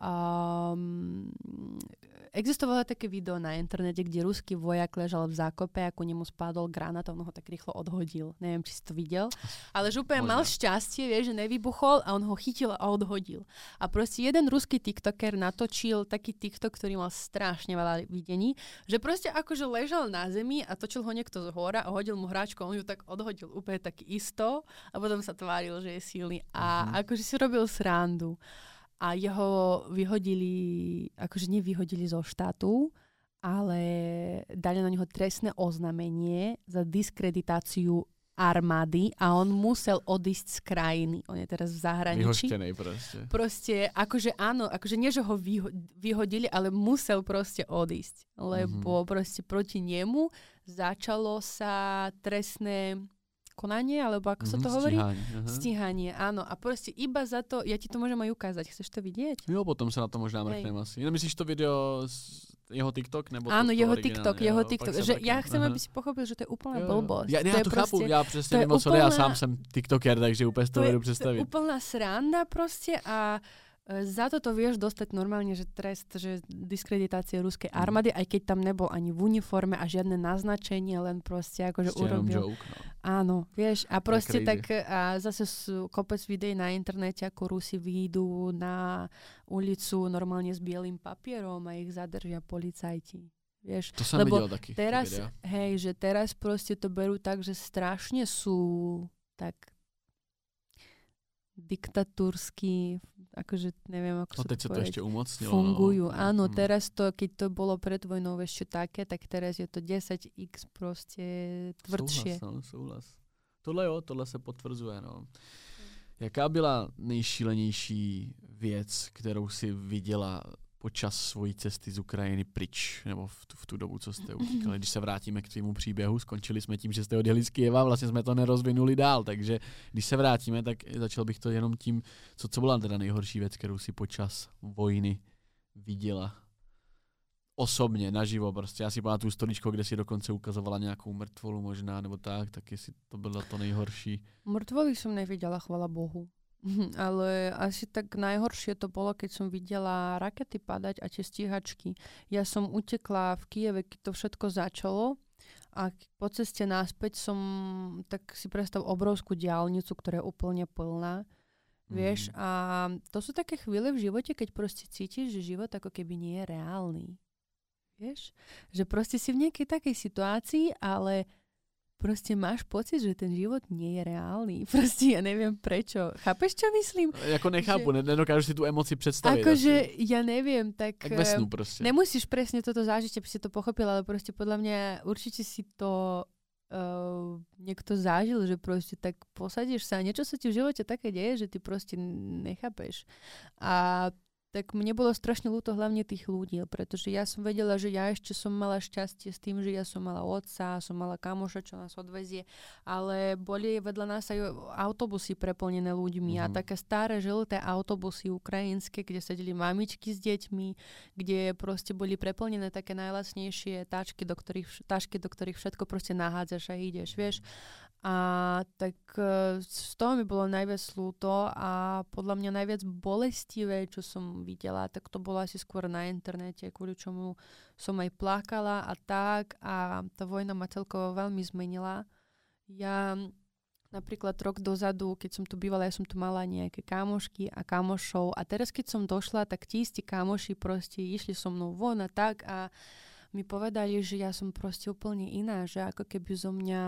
Um, existovalo také video na internete, kde ruský vojak ležal v zákope, ako nemu spadol granát a on ho tak rýchlo odhodil. Neviem, či si to videl. Ale že úplne mal šťastie, vie, že nevybuchol a on ho chytil a odhodil. A proste jeden ruský tiktoker natočil taký tiktok, ktorý mal strašne veľa videní, že proste akože ležal na zemi a točil ho niekto z hora a hodil mu hráčku a on ju tak odhodil úplne tak isto a potom sa tváril, že je silný. A mm-hmm. akože si robil srandu. A jeho vyhodili, akože nevyhodili zo štátu, ale dali na neho trestné oznámenie za diskreditáciu armády a on musel odísť z krajiny. On je teraz v zahraničí. Vyhoštenej proste. Proste, akože áno, akože nie, že ho vyho- vyhodili, ale musel proste odísť. Lebo mm-hmm. proste proti nemu začalo sa trestné konanie, alebo ako sa to mm, hovorí? Stíhanie. Aha. Stíhanie, áno. A proste iba za to, ja ti to môžem aj ukázať. Chceš to vidieť? Jo, potom sa na to možná mrknem asi. Myslíš to video z jeho TikTok? Nebo áno, to, to jeho originálne? TikTok, jo, jeho TikTok. Že mrknem. ja chcem, Aha. aby si pochopil, že to je úplná jo. blbosť. Ja, ja to, to chápu, já přesně vím, co já sám jsem TikToker, takže úplně to vedu představit. To je úplná sranda proste a za toto vieš dostať normálne, že trest, že diskreditácie ruskej armády, mm. aj keď tam nebol ani v uniforme a žiadne naznačenie, len proste akože Ešte urobil. Joke, no. Áno, vieš, a proste tak a zase sú kopec videí na internete, ako Rusi výjdu na ulicu normálne s bielým papierom a ich zadržia policajti. Vieš, to som lebo videl taký. Teraz, hej, že teraz proste to berú tak, že strašne sú tak diktatúrsky, akože neviem, ako no, sa teď to sa to povedať, ešte umocnilo. fungujú. No. Áno, mm. teraz to, keď to bolo pred vojnou ešte také, tak teraz je to desať x proste tvrdšie. Souhlas, no, souhlas. Tohle jo, tohle se potvrzuje, no. Jaká byla nejšílenější věc, kterou si viděla počas svojí cesty z Ukrajiny pryč, nebo v tu, v tu dobu, co jste utíkali? Když se vrátíme k tvému příběhu, skončili jsme tím, že jste odjeli z Kyjeva, vlastně jsme to nerozvinuli dál, takže když se vrátíme, tak začal bych to jenom tím, co, co byla teda nejhorší věc, kterou si počas vojny viděla osobně, naživo prostě. Já si pamatuju stoličko, kde si dokonce ukazovala nějakou mrtvolu možná, nebo tak, tak jestli to bylo to nejhorší. Mrtvoly som nevidela, chvala Bohu. Ale asi tak najhoršie to bolo, keď som videla rakety padať a tie stíhačky. Ja som utekla v Kyjeve, keď to všetko začalo a po ceste naspäť som, tak si predstav obrovskú diaľnicu, ktorá je úplne plná. Mm. Vieš, a to sú také chvíle v živote, keď proste cítiš, že život ako keby nie je reálny. Vieš? Že proste si v nejakej takej situácii, ale proste máš pocit, že ten život nie je reálny. Proste ja neviem prečo. Chápeš, čo myslím? Jako nechápu, že nedokážu si tú emoci predstaviť. Akože ja neviem, tak... Tak ve snu proste. Nemusíš presne toto zažiť, aby si to pochopil, ale proste podľa mňa určite si to uh, niekto zažil, že proste tak posadíš sa a niečo sa ti v živote také deje, že ty proste nechápeš. A tak mne bolo strašne ľúto hlavne tých ľudí, pretože ja som vedela, že ja ešte som mala šťastie s tým, že ja som mala otca, som mala kamoša, čo nás odvezie, ale boli vedľa nás aj autobusy preplnené ľuďmi mm-hmm. a také staré žlté autobusy ukrajinské, kde sedeli mamičky s deťmi, kde proste boli preplnené také najlacnejšie táčky, do ktorých, táčky, do ktorých všetko proste nahádzaš a ideš, vieš. A tak z toho mi bolo najviac ľúto a podľa mňa najviac bolestivé, čo som videla, tak to bolo asi skôr na internete, kvôli čomu som aj plakala a tak a tá vojna ma celkovo veľmi zmenila. Ja napríklad rok dozadu, keď som tu bývala, ja som tu mala nejaké kamošky a kamošov a teraz keď som došla, tak tí istí kamoši proste išli so mnou von a tak a mi povedali, že ja som proste úplne iná, že ako keby zo mňa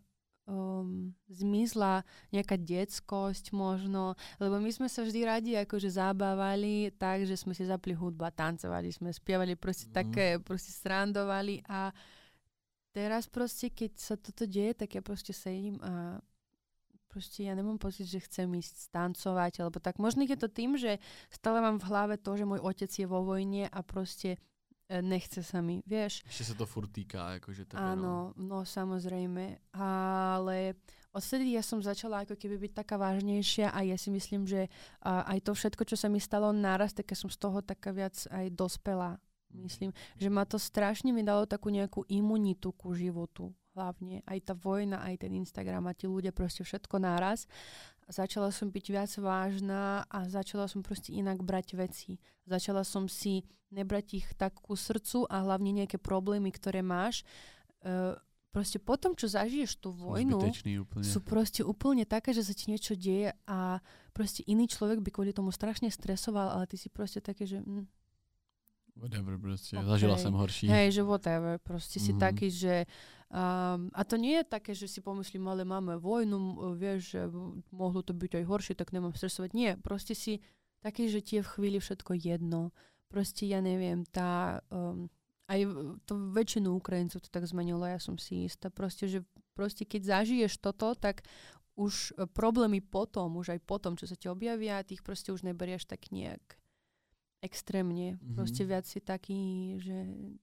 Um, zmizla nejaká detskosť možno, lebo my sme sa vždy radi akože zabávali tak, že sme si zapli hudbu a tancovali sme, spievali proste mm. také, proste srandovali a teraz proste, keď sa toto deje, tak ja proste sedím a proste ja nemám pocit, že chcem ísť tancovať, alebo tak. Možno je to tým, že stále mám v hlave to, že môj otec je vo vojne a proste nechce sa mi, vieš. Ešte sa to furt týka, akože tebe, áno, no. no samozrejme, ale odtedy ja som začala ako keby byť taká vážnejšia a ja si myslím, že uh, aj to všetko, čo sa mi stalo naraz, tak ja som z toho taká viac aj dospela. Myslím, že ma to strašne mi dalo takú nejakú imunitu ku životu. hlavne. Aj tá vojna, aj ten Instagram a tí ľudia proste všetko naraz. Začala som byť viac vážna a začala som proste inak brať veci. Začala som si nebrať ich tak ku srdcu a hlavne nejaké problémy, ktoré máš. Uh, proste potom, čo zažiješ tú vojnu, sú proste úplne také, že sa ti niečo deje a proste iný človek by kvôli tomu strašne stresoval, ale ty si proste také, že... Mm, whatever, proste. Okay. Zažila som horší. Hej, že whatever. Proste mm-hmm. si taký, že... Um, a to nie je také, že si pomyslím, ale máme vojnu, vieš, že mohlo to byť aj horšie, tak nemám stresovať. Nie, proste si taký, že ti je v chvíli všetko jedno. Proste ja neviem, tá... Um, aj to väčšinu Ukrajincov to tak zmenilo, ja som si istá. Proste, že proste keď zažiješ toto, tak už problémy potom, už aj potom, čo sa ti objavia, tých proste už neberieš tak nejak extrémne. Mm-hmm. Proste viac si taký, že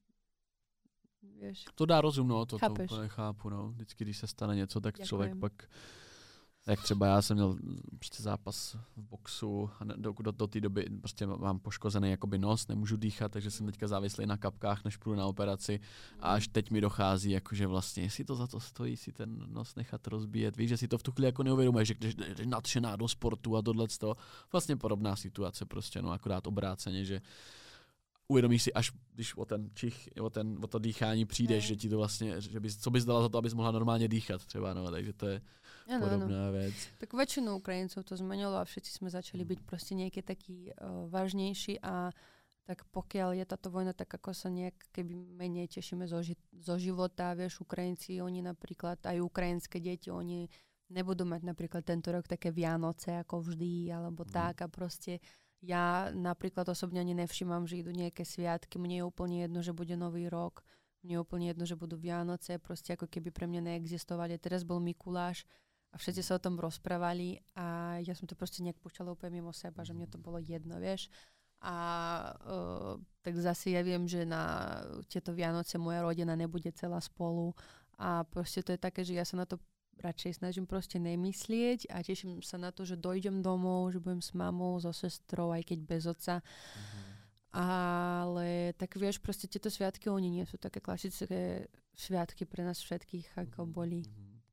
vieš. To dá rozum, no, to, to úplně chápu, no. Vždycky, když se stane něco, tak Ďakujem. Člověk pak, jak třeba já jsem měl prostě zápas v boxu a do, do, do té doby prostě mám poškozený jakoby nos, nemůžu dýchat, takže jsem teďka závislý na kapkách, než půjdu na operaci a až teď mi dochází, jakože vlastně, jestli to za to stojí, si ten nos nechat rozbíjet, víš, že si to v tu chvíli jako neuvědomuješ, že když jsi nadšená do sportu a tohleto, vlastně podobná situace prostě, no akorát obráceně, že uvědomíš si, až když o ten čich, o, ten, o to dýchání přijdeš, ne. že ti to vlastně, že bys, co bys dala za to, abys mohla normálně dýchat třeba, no, takže to je ano, podobná ano. věc. Tak väčšinu Ukrajincov to zmenilo a všetci sme začali byť proste nejaký taký uh, vážnejší a tak pokiaľ je táto vojna, tak ako sa nejak keby menej tešíme zo, ži- zo života, vieš, Ukrajinci, oni napríklad, aj ukrajinské deti, oni nebudú mať napríklad tento rok také Vianoce ako vždy, alebo mm. tak a proste ja napríklad osobne ani nevšímam, že idú nejaké sviatky. Mne je úplne jedno, že bude Nový rok. Mne je úplne jedno, že budú Vianoce. Proste ako keby pre mňa neexistovali. Teraz bol Mikuláš a všetci sa o tom rozprávali a ja som to proste nejak púšťala úplne mimo seba, že mne to bolo jedno, vieš. A uh, tak zase ja viem, že na tieto Vianoce moja rodina nebude celá spolu a proste to je také, že ja sa na to radšej snažím proste nemyslieť a teším sa na to, že dojdem domov, že budem s mamou, so sestrou, aj keď bez otca. Mm-hmm. Ale tak vieš, proste tieto sviatky, oni nie sú také klasické sviatky pre nás všetkých, ako mm-hmm. boli.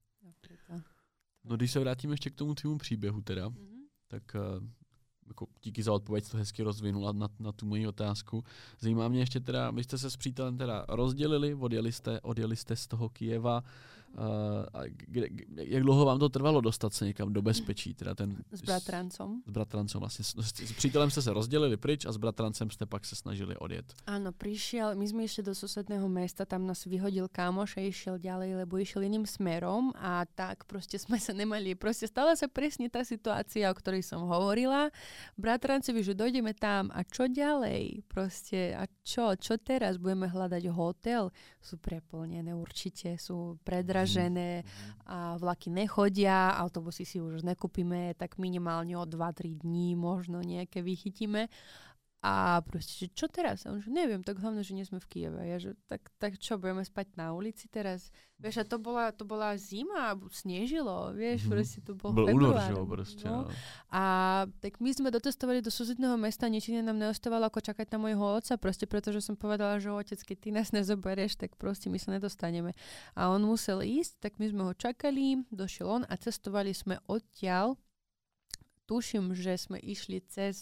No když se vrátím ještě k tomu tvému příběhu teda, mm-hmm. tak uh, jako díky za odpověď, to hezky rozvinula na, na tu moji otázku. Zajímá mě ještě teda, vy jste se s přítelem teda rozdělili, odjeli jste, odjeli jste z toho Kyjeva. Uh, a kde, jak dlouho vám to trvalo dostat se někam do bezpečí? Teda ten, s bratrancom. S bratrancom vlastně. S, s, s přítelem jste se rozdělili pryč a s bratrancem jste pak se snažili odjet. Áno, prišiel, my sme išli do susedného mesta, tam nás vyhodil kámoš a išiel ďalej, lebo išiel iným smerom a tak proste sme sa nemali. Proste stala sa presne tá situácia, o ktorej som hovorila. Bratrancovi, že dojdeme tam a čo ďalej? Proste a čo? Čo teraz? Budeme hľadať hotel? Sú preplnené určite, sú predražené a vlaky nechodia, autobusy si už nekúpime, tak minimálne o dva tri dní možno nejaké vychytíme. A proste, že čo teraz? A on že neviem, tak hlavne, že nie sme v Kyjeve. Ja, že tak, tak čo, budeme spať na ulici teraz? Vieš, a to bola, to bola zima, snežilo, vieš, mm-hmm. proste to bol február. Bol únor, proste, no. No. A tak my sme dotestovali do susedného mesta, nič iné nám neostávalo ako čakať na môjho otca, proste pretože som povedala, že otec, keď ty nás nezoberieš, tak proste my sa nedostaneme. A on musel ísť, tak my sme ho čakali, došiel on a cestovali sme odtiaľ. Tuším, že sme išli cez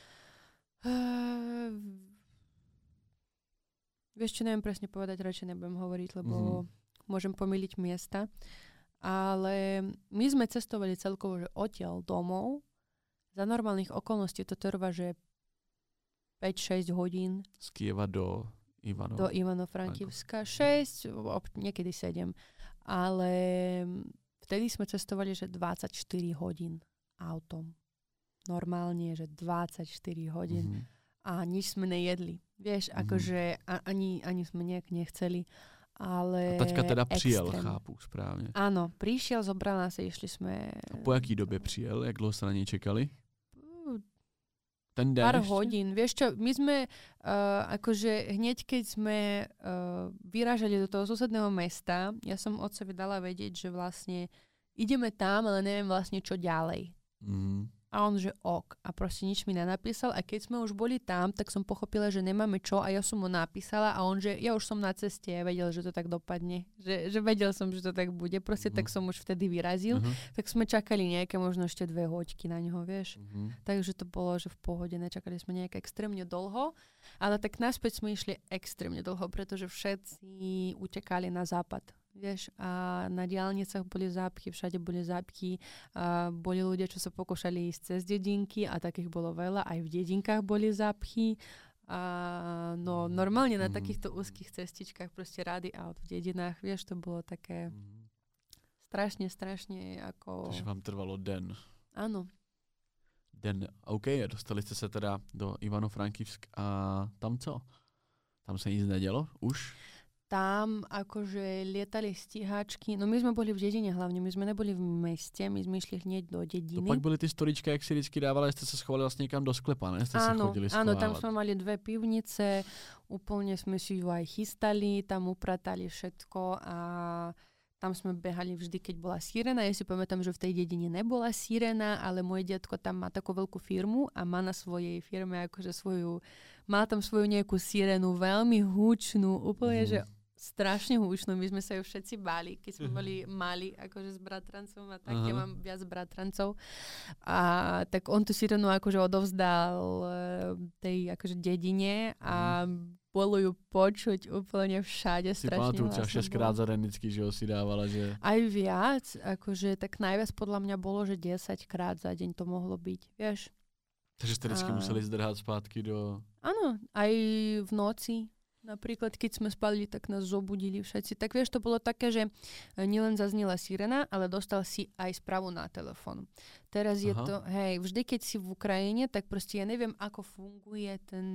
Uh, vieš čo, neviem presne povedať, radšej nebudem hovoriť, lebo mm-hmm. môžem pomýliť miesta. Ale my sme cestovali celkovo, že odtiaľ domov. Za normálnych okolností to trvá, že päť šesť hodín. Z Kyjeva do Ivano. Do Ivano-Frankivska. šesť, niekedy sedem. Ale vtedy sme cestovali, že dvadsaťštyri hodín autom. Normálne, že dvadsaťštyri hodín mm-hmm. a nič sme nejedli. Vieš, mm-hmm. akože a, ani, ani sme nejak nechceli, ale a taťka teda přijel, extrém. Chápu správne. Áno, prišiel, zobral nás a išli sme... A po jaký době přijel? Jak dlouho sa na nej čekali? Ten den Pár ešte? hodín. Vieš čo, my sme uh, akože hneď, keď sme uh, vyrážali do toho susedného mesta, ja som otcovi dala vedieť, že vlastne ideme tam, ale neviem vlastne čo ďalej. Mm-hmm. A on, že ok. A proste nič mi nenapísal. A keď sme už boli tam, tak som pochopila, že nemáme čo a ja som mu napísala a on, že ja už som na ceste a vedel, že to tak dopadne. Že, že vedel som, že to tak bude. Proste uh-huh. tak som už vtedy vyrazil. Uh-huh. Tak sme čakali nejaké možno ešte dve hoďky na neho, vieš. Uh-huh. Takže to bolo, že v pohode. Nečakali sme nejak extrémne dlho. Ale tak naspäť sme išli extrémne dlho, pretože všetci utekali na západ. Vieš, a na diaľnicách boli zápchy, všade boli zápchy, a boli ľudia, čo sa pokúšali ísť cez dedinky a takých bolo veľa, aj v dedinkách boli zápchy. A no normálne na takýchto úzkých cestičkách proste rady aut v dedinách, vieš, to bolo také strašne, strašne ako... Takže vám trvalo den. Áno. Den, OK, dostali ste sa teda do Ivano-Frankivsk a tam co? Tam sa nic nedělo už? Tam akože lietali stíhačky, no my sme boli v dedine hlavne, my sme neboli v meste, my sme išli hneď do dediny. To pak byly ty storička, jak si vždycky dávali, jste se schovali vlastně někam do sklepa, ne? Jste áno, se chodili schovávat. Áno, tam sme mali dve pivnice, úplne sme si ju aj chystali, tam upratali všetko a tam sme behali vždy, keď bola sirena. Ja si pamätám, že v tej dedine nebola sirena, ale môj detko tam má takú veľkú firmu a má na svojej firme akože svoju, má tam svoju nejakú sirenu, veľmi húčnú, úplne, mm. že strašne húčnú. My sme sa ju všetci báli, keď sme boli mali, akože s bratrancom a tak. Uh-huh. Ja mám viac bratrancov. A tak on tú sirenu akože odovzdal tej akože dedine a uh-huh. bolo ju počuť úplne všade. Si strašne pamatujú, ťa šesťkrát za den vždycky, že ho si dávala, že... Aj viac, akože tak najviac podľa mňa bolo, že desaťkrát za deň to mohlo byť, vieš. Takže ste vždycky a... museli zdrhať zpátky do... Áno, aj v noci. Napríklad, keď sme spali, tak nás zobudili všetci. Tak vieš, to bolo také, že nielen zaznela sirena, ale dostal si aj správu na telefón. Teraz Aha. je to, hej, vždy, keď si v Ukrajine, tak proste ja neviem, ako funguje ten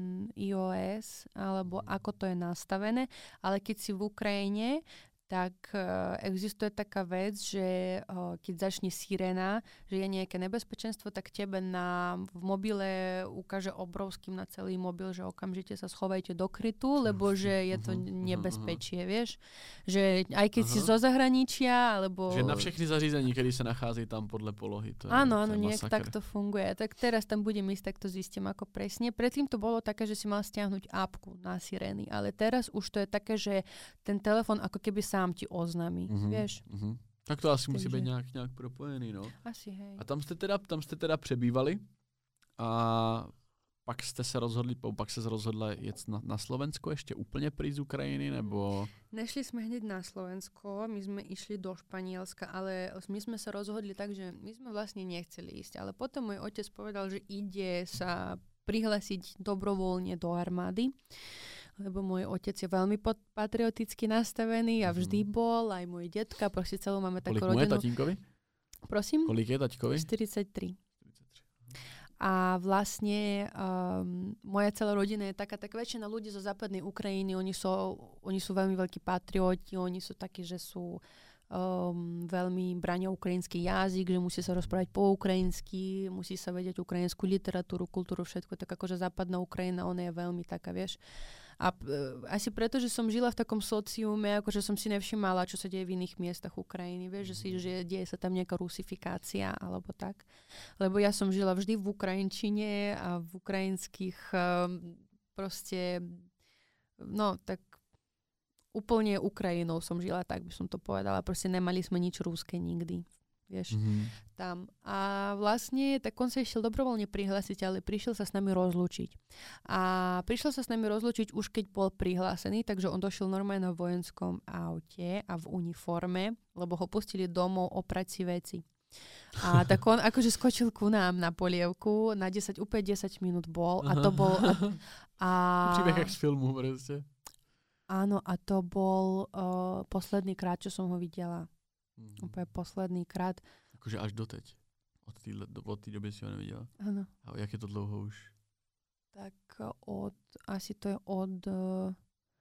iOS, alebo ako to je nastavené, ale keď si v Ukrajine, tak uh, existuje taká vec, že uh, keď začne sirena, že je nejaké nebezpečenstvo, tak tebe na, v mobile ukáže obrovským na celý mobil, že okamžite sa schovajte do krytu, lebo že je to nebezpečie, vieš. Že aj keď Aha. si zo zahraničia, alebo... Že na všechny zařízení, kedy sa nachádzajú tam podľa polohy. To je, áno, áno, to je nejak takto funguje. Tak teraz tam budem ísť, tak to zistím ako presne. Predtým to bolo také, že si mal stiahnuť apku na sirény, ale teraz už to je také, že ten telefon ako keby sa sám ti oznámí, uh-huh, vieš. Uh-huh. Tak to asi Takže... musí být nějak, nějak propojený, no. Asi, hej. A tam jste teda, tam jste teda přebývali a pak jste se rozhodli, pak se rozhodla jet na, na Slovensko ještě úplně pryč z Ukrajiny, nebo... Nešli sme hneď na Slovensko, my sme išli do Španielska, ale my sme sa rozhodli tak, že my sme vlastne nechceli ísť, ale potom môj otec povedal, že ide sa prihlásiť dobrovoľne do armády, lebo môj otec je veľmi patrioticky nastavený a vždy bol, aj môj detka, proste celú máme takú rodinu. Kolik mu je tatínkovi? Prosím? Kolik je taťkovi? štyridsaťtri. A vlastne um, moja celá rodina je taká, tak väčšina ľudí zo západnej Ukrajiny, oni sú, oni sú veľmi veľkí patrioti, oni sú takí, že sú um, veľmi brania ukrajinský jazyk, že musí sa rozprávať po ukrajinsky, musí sa vedieť ukrajinskú literatúru, kultúru, všetko. Tak akože západná Ukrajina, ona je veľmi taká, vieš. A uh, asi preto, že som žila v takom sociume, akože som si nevšimala, čo sa deje v iných miestach Ukrajiny, vieš, že si, že deje sa tam nejaká rusifikácia, alebo tak. Lebo ja som žila vždy v ukrajinčine a v ukrajinských um, proste, no tak úplne Ukrajinou som žila, tak by som to povedala. Proste nemali sme nič rúske nikdy. Vieš, mm-hmm. tam. A vlastne, tak on sa išiel dobrovoľne prihlásiť, ale prišiel sa s nami rozlúčiť. A prišiel sa s nami rozlúčiť už keď bol prihlásený, takže on došiel normálne na vojenskom aute a v uniforme, lebo ho pustili domov oprať si veci. A tak on akože skočil ku nám na polievku, na desať, úplne desať minút bol a to bol... A, a, príbeh jak z filmu, proste. Áno, a to bol uh, posledný krát, čo som ho videla. Mm. Úplne posledný krát. Akože až doteď. Od té od té doby si ho nevidela. Áno. A jak je to dlouho už? Tak od, asi to je od uh,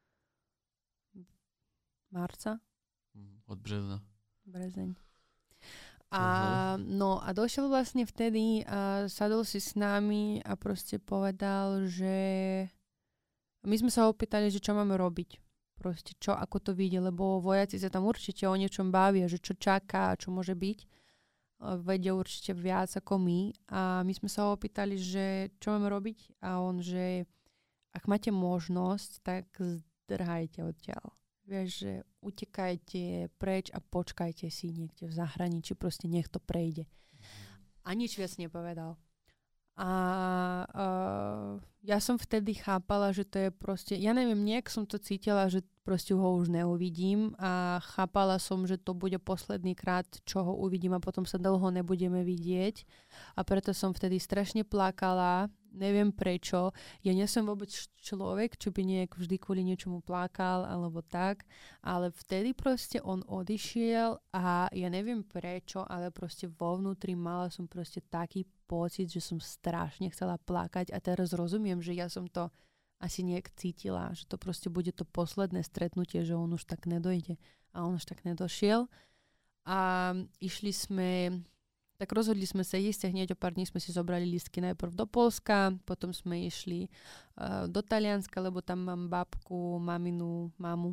marca. Mm, od března. Brezeň. A uh-huh. no a došiel vlastne vtedy a sadol si s nami a proste povedal, že my sme sa opýtali, že čo máme robiť. Proste čo, ako to vidie, lebo vojaci sa tam určite o niečom bavia, že čo čaká, čo môže byť. vedia určite viac ako my. A my sme sa ho opýtali, že čo máme robiť? A on, že ak máte možnosť, tak zdrhajte odtiaľ. Vieš, že utekajte preč a počkajte si niekde v zahraničí, proste nech to prejde. A nič viac nepovedal. A uh, ja som vtedy chápala, že to je proste, ja neviem, nejak som to cítila, že proste ho už neuvidím a chápala som, že to bude posledný krát, čo ho uvidím a potom sa dlho nebudeme vidieť. A preto som vtedy strašne plakala, neviem prečo. Ja nie som vôbec človek, čo by nejak vždy kvôli niečomu plakal alebo tak, ale vtedy proste on odišiel a ja neviem prečo, ale proste vo vnútri mala som proste taký pocit, že som strašne chcela plakať a teraz rozumiem, že ja som to asi nejak cítila, že to proste bude to posledné stretnutie, že on už tak nedojde a on už tak nedošiel. A išli sme, tak rozhodli sme sa ísť a hneď o pár dní sme si zobrali lístky najprv do Poľska, potom sme išli uh, do Talianska, lebo tam mám babku, maminu, mamu.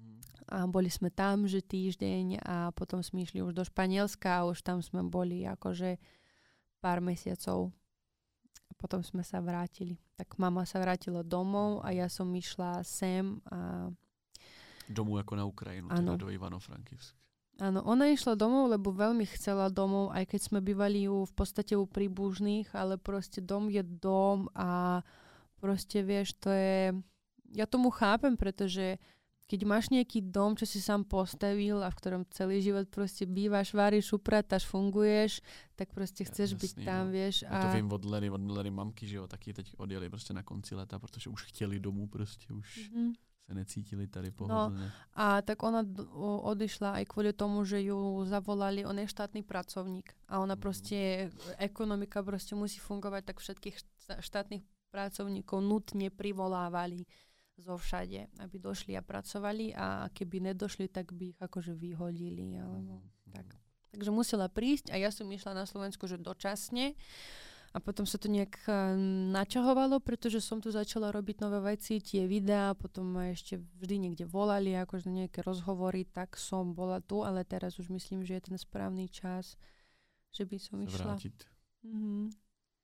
A boli sme tam, že týždeň a potom sme išli už do Španielska a už tam sme boli akože pár mesiacov. Potom sme sa vrátili. Tak mama sa vrátila domov a ja som išla sem. A... Domů ako na Ukrajinu, teda do Ivano-Frankivsk. Áno, ona išla domov, lebo veľmi chcela domov, aj keď sme bývali u, v podstate u príbužných, ale proste dom je dom a proste vieš, to je... Ja tomu chápem, pretože keď máš nejaký dom, čo si sám postavil a v ktorom celý život proste bývaš, váriš, upratáš, funguješ, tak proste chceš ja, byť jasný, tam, no. Vieš. A... Ja to vím od Leny, od Leny mamky, že jo, taky teď odjeli prostě na konci leta, protože už chtěli domů, prostě už mm-hmm. se necítili tady pohodlne. No, a tak ona d- odišla aj kvôli tomu, že ju zavolali, on je štátny pracovník a ona mm-hmm. proste, ekonomika proste musí fungovať, tak všetkých štátnych pracovníkov nutne privolávali zo všade, aby došli a pracovali a keby nedošli, tak by ich akože vyhodili. Alebo mm. tak. Takže musela prísť a ja som išla na Slovensku, že dočasne a potom sa to nejak uh, načahovalo, pretože som tu začala robiť nové veci, tie videá, potom ma ešte vždy niekde volali, akože nejaké rozhovory, tak som bola tu, ale teraz už myslím, že je ten správny čas, že by som sa išla. Vrátiť. Mhm.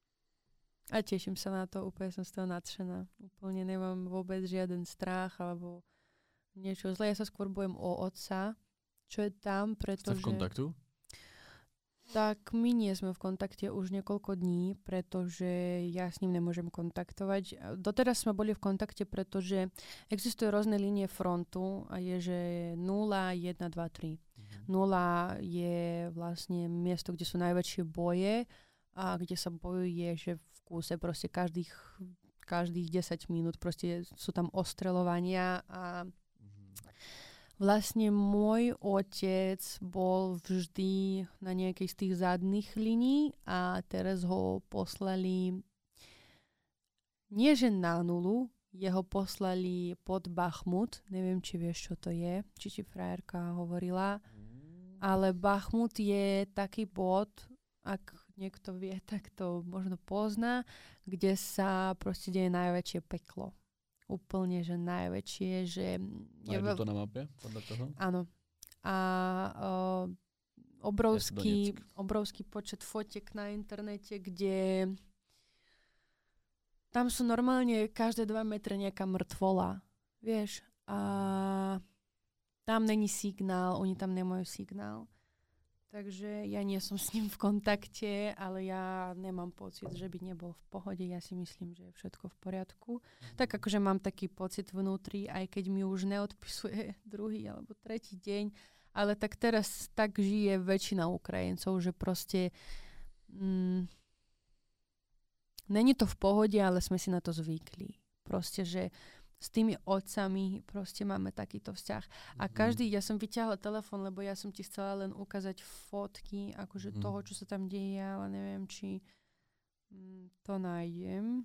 A teším sa na to, úplne som z toho nadšená. Úplne nemám vôbec žiaden strach alebo niečo zlé. Ja sa skôr bojím o otca, čo je tam, pretože... Ste v kontaktu? Tak my nie sme v kontakte už niekoľko dní, pretože ja s ním nemôžem kontaktovať. Doteraz sme boli v kontakte, pretože existujú rôzne línie frontu a je, že nula, jedna, dva, tri. Mhm. nula je vlastne miesto, kde sú najväčšie boje a kde sa bojuje, že v kúse proste každých, každých desať minút proste sú tam ostreľovania a vlastne môj otec bol vždy na nejakej z tých zadných línií a teraz ho poslali nie že na nulu, jeho poslali pod Bachmut, neviem, či vieš, čo to je, či ti frajerka hovorila, ale Bachmut je taký bod, ak niekto vie, tak to možno pozná, kde sa proste deje najväčšie peklo. Úplne, že najväčšie, že... Nájdu to na mape podľa toho? Áno. A uh, obrovský, obrovský počet fotiek na internete, kde tam sú normálne každé dva metre nejaká mŕtvola. Vieš? A tam není signál, oni tam nemajú signál. Takže ja nie som s ním v kontakte, ale ja nemám pocit, že by nebol v pohode. Ja si myslím, že je všetko v poriadku. Tak akože mám taký pocit vnútri, aj keď mi už neodpisuje druhý alebo tretí deň, ale tak teraz tak žije väčšina Ukrajincov, že proste mm, není to v pohode, ale sme si na to zvykli. Proste, že s tými otcami proste máme takýto vzťah. A každý, ja som vyťahla telefón, lebo ja som ti chcela len ukázať fotky akože mm. toho, čo sa tam deje, ale neviem, či mm, to nájdem.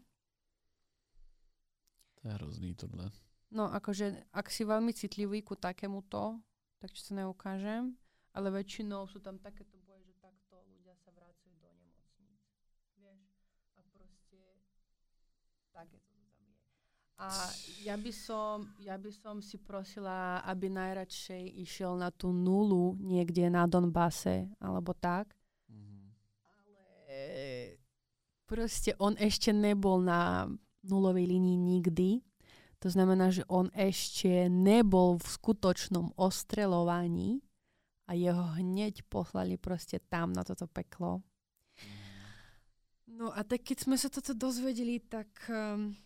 To je hrozný tohle. No, akože, ak si veľmi citlivý ku takémuto, tak ti sa neukážem, ale väčšinou sú tam takéto boje, že takto ľudia sa vracajú do nemocníc. Vieš? A proste takéto. A ja by som, ja by som si prosila, aby najradšej išiel na tú nulu niekde na Donbase, alebo tak. Mm-hmm. proste on ešte nebol na nulovej línii nikdy. To znamená, že on ešte nebol v skutočnom ostreľovaní a jeho hneď poslali proste tam na toto peklo. No a tak keď sme sa toto dozvedeli, tak um,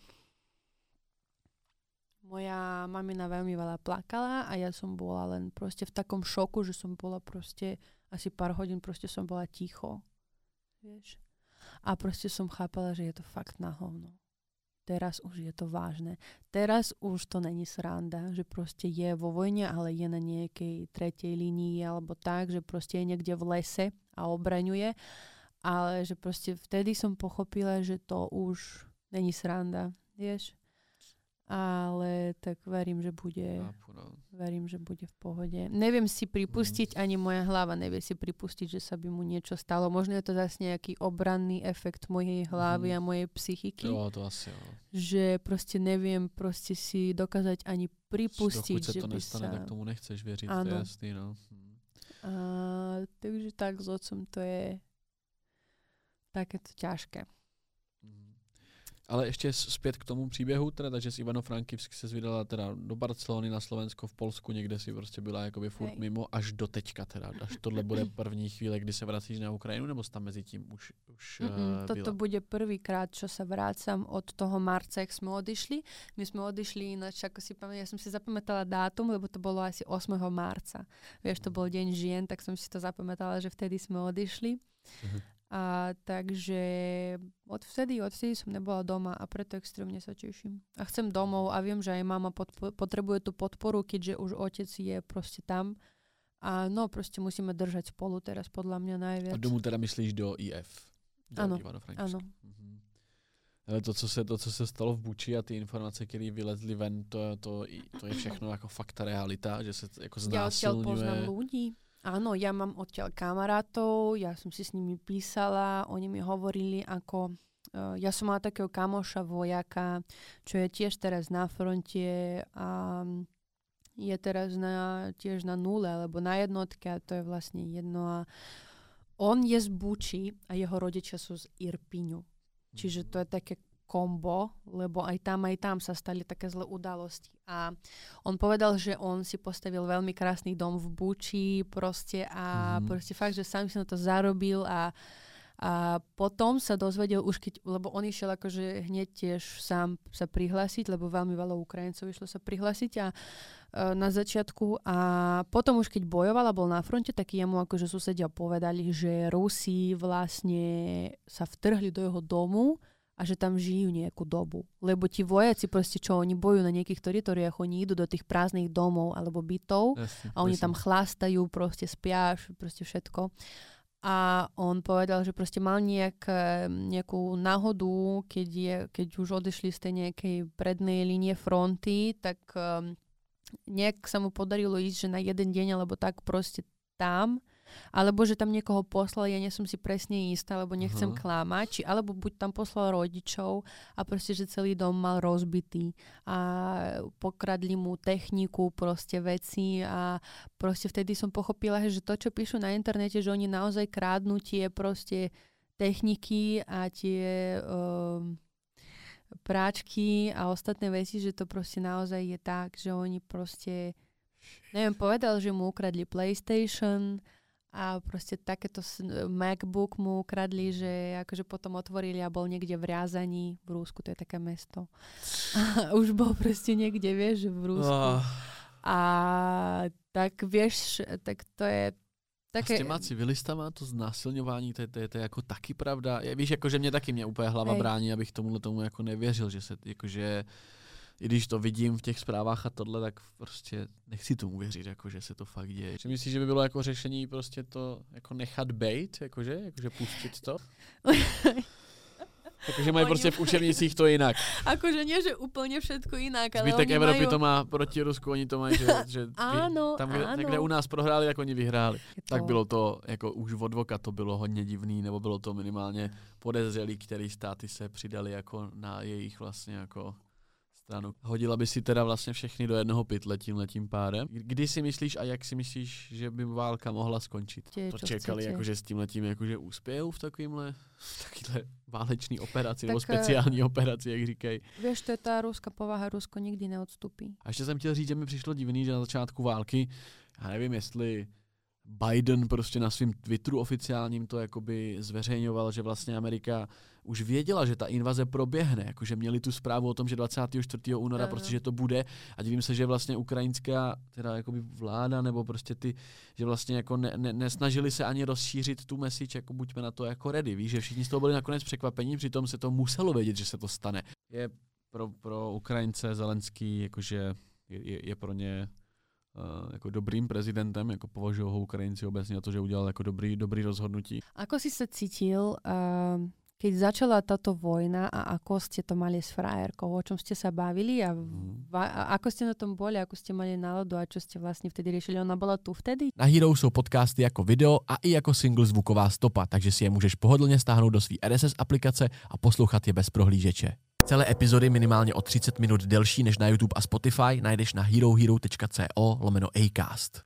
moja mamina veľmi veľa plakala a ja som bola len proste v takom šoku, že som bola proste asi pár hodín proste som bola ticho. Vieš? A proste som chápala, že je to fakt na hovno. Teraz už je to vážne. Teraz už to není sranda, že proste je vo vojne, ale je na nejakej tretej línii alebo tak, že proste je niekde v lese a obraňuje. Ale že proste vtedy som pochopila, že to už není sranda, vieš. Ale tak verím, že bude, verím, že bude v pohode. Neviem si pripustiť, ani moja hlava nevie si pripustiť, že sa by mu niečo stalo. Možno je to zase nejaký obranný efekt mojej hlavy a mojej psychiky. Jo, to asi jo. Že proste neviem proste si dokázať ani pripustiť, dokud že to by nestane, sa... tak tomu nechceš veriť, Áno. to je jasný, no. A, takže tak s otcom to je takéto ťažké. Ale ještě zpět k tomu příběhu, teda, takže z Ivano-Frankivsk se vydala teda do Barcelony, na Slovensko, v Polsku, někde si prostě byla jakoby furt Hej. mimo, až do teďka teda. Až tohle bude první chvíle, kdy se vracíš na Ukrajinu, nebo jsi tam mezi tím už, už uh, Toto byla? bude prvýkrát, čo sa vrácam od toho marca, jak sme odišli. My sme odišli ináč, ako si pamätám, ja som si zapamätala dátum, lebo to bolo asi ôsmeho marca. Vieš, to bol deň žien, tak som si to zapamätala, že vtedy sme odišli. Uh-huh. A takže od vtedy, od vtedy som nebola doma a preto extrémne sa teším. A chcem domov a viem, že aj mama podpo- potrebuje tú podporu, keďže už otec je proste tam. A no, proste musíme držať spolu teraz podľa mňa najviac. A domů teda myslíš do í ef? Do Ano, Ivano-Frankivsk. ano. Mhm. Ale to co, se, to, co se stalo v Buči a ty informace, které vylezly ven, to, to, to je všechno jako fakt realita, že se jako Ja odtiaľ znásilňuje. poznám ľudí. Áno, ja mám odtiaľ kamarátov, ja som si s nimi písala, oni mi hovorili ako... Uh, ja som mala takého kamoša vojaka, čo je tiež teraz na fronte a je teraz na, tiež na nule, alebo na jednotke a to je vlastne jedno. A on je z Buči a jeho rodičia sú z Irpiňu. Čiže to je také kombo, lebo aj tam, aj tam sa stali také zlé udalosti. A on povedal, že on si postavil veľmi krásny dom v Buči proste a mm. proste fakt, že sám si na to zarobil a, a potom sa dozvedel už keď, lebo on išiel akože hneď tiež sám sa prihlásiť, lebo veľmi veľa Ukrajincov išlo sa prihlásiť a na začiatku a potom už keď bojoval a bol na fronte, tak jemu akože susedia povedali, že Rusi vlastne sa vtrhli do jeho domu a že tam žijú nejakú dobu. Lebo ti vojaci proste, čo oni bojujú na nejakých teritoriách, oni idú do tých prázdnych domov alebo bytov Jasne, a oni jasne. tam chlastajú, proste spia, proste všetko. A on povedal, že proste mal nejak, nejakú náhodu, keď, je, keď už odišli z tej nejakej prednej línie fronty, tak um, nejak sa mu podarilo ísť, že na jeden deň alebo tak proste tam, alebo že tam niekoho poslal, ja nie som si presne istá, lebo nechcem uh-huh. klamať, či alebo buď tam poslal rodičov a proste, že celý dom mal rozbitý a pokradli mu techniku, proste veci a proste vtedy som pochopila, že to, čo píšu na internete, že oni naozaj krádnu tie proste techniky a tie um, práčky a ostatné veci, že to proste naozaj je tak, že oni proste neviem, povedal, že mu ukradli PlayStation a proste takéto MacBook mu ukradli, že akože potom otvorili a bol niekde v Riazaní, v Rusku, to je také mesto. A už bol proste niekde, vieš, v Rusku. Oh. A tak vieš, tak to je také... A s těma civilistama, to znásilňování, to je, to, je, to je jako taky pravda. Je, víš, jakože mě taky mě úplně hlava Hej. brání, abych tomuhle tomu jako nevěřil, že se, jakože i když to vidím v těch zprávách a tohle, tak prostě nechci tomu věřit, jako, že se to fakt děje. Či myslíš, že by bylo jako řešení prostě to jako nechat bejt, jakože, jakože pustit to? Jakože mají prostě v učebnicích to jinak. Akože nie, že úplne všetko inak, ale Zbytek oni Evropy majú... to má proti Rusku, oni to mají, že, že áno, tam, kde, áno. kde u nás prohráli, jak oni vyhráli. To... Tak bylo to, jako už od voka to bylo hodně divný, nebo bylo to minimálně podezřelý, který státy se přidali jako na jejich vlastně jako stranu. Hodila by si teda vlastně všechny do jednoho pytle tímhletím pádem. Kdy si myslíš a jak si myslíš, že by válka mohla skončit? Tě, to čekali jakože s tímhletím jakože úspějou v takovýmhle, v takýhle válečný operaci, tak, nebo speciální operaci, jak říkají. Víš, to je ta ruská povaha, Rusko nikdy neodstupí. A ještě jsem chtěl říct, že mi přišlo divný, že na začátku války, já nevím, jestli Biden prostě na svém Twitteru oficiálním to jakoby zveřejňoval, že vlastně Amerika už věděla, že ta invaze proběhne, jakože měli tu zprávu o tom, že dvacátého čtvrtého února no. prostě, že to bude a divím se, že vlastně ukrajinská teda jakoby vláda nebo prostě ty, že vlastně jako ne, ne, nesnažili se ani rozšířit tu message, jako buďme na to jako ready, víš, že všichni z toho byli nakonec překvapení, přitom se to muselo vědět, že se to stane. Je pro, pro Ukrajince Zelenský, jakože je, je, je pro ně Uh, jako dobrým prezidentem, jako považují ho Ukrajinci obecně na to, že udělal jako dobrý, dobrý rozhodnutí. Ako si sa cítil, uh, keď začala táto vojna a ako ste to mali s frajerkou, o čom ste sa bavili a, mm. va, a ako ste na tom boli, ako ste mali náladu a čo ste vlastne vtedy riešili? Ona bola tu vtedy? Na Hero jsou podcasty jako video a i jako single zvuková stopa, takže si je můžeš pohodlně stáhnout do své R S S aplikace a poslouchat je bez prohlížeče. Celé epizody minimálně o třicet minut delší než na YouTube a Spotify najdeš na herohero tečka co lomeno acast.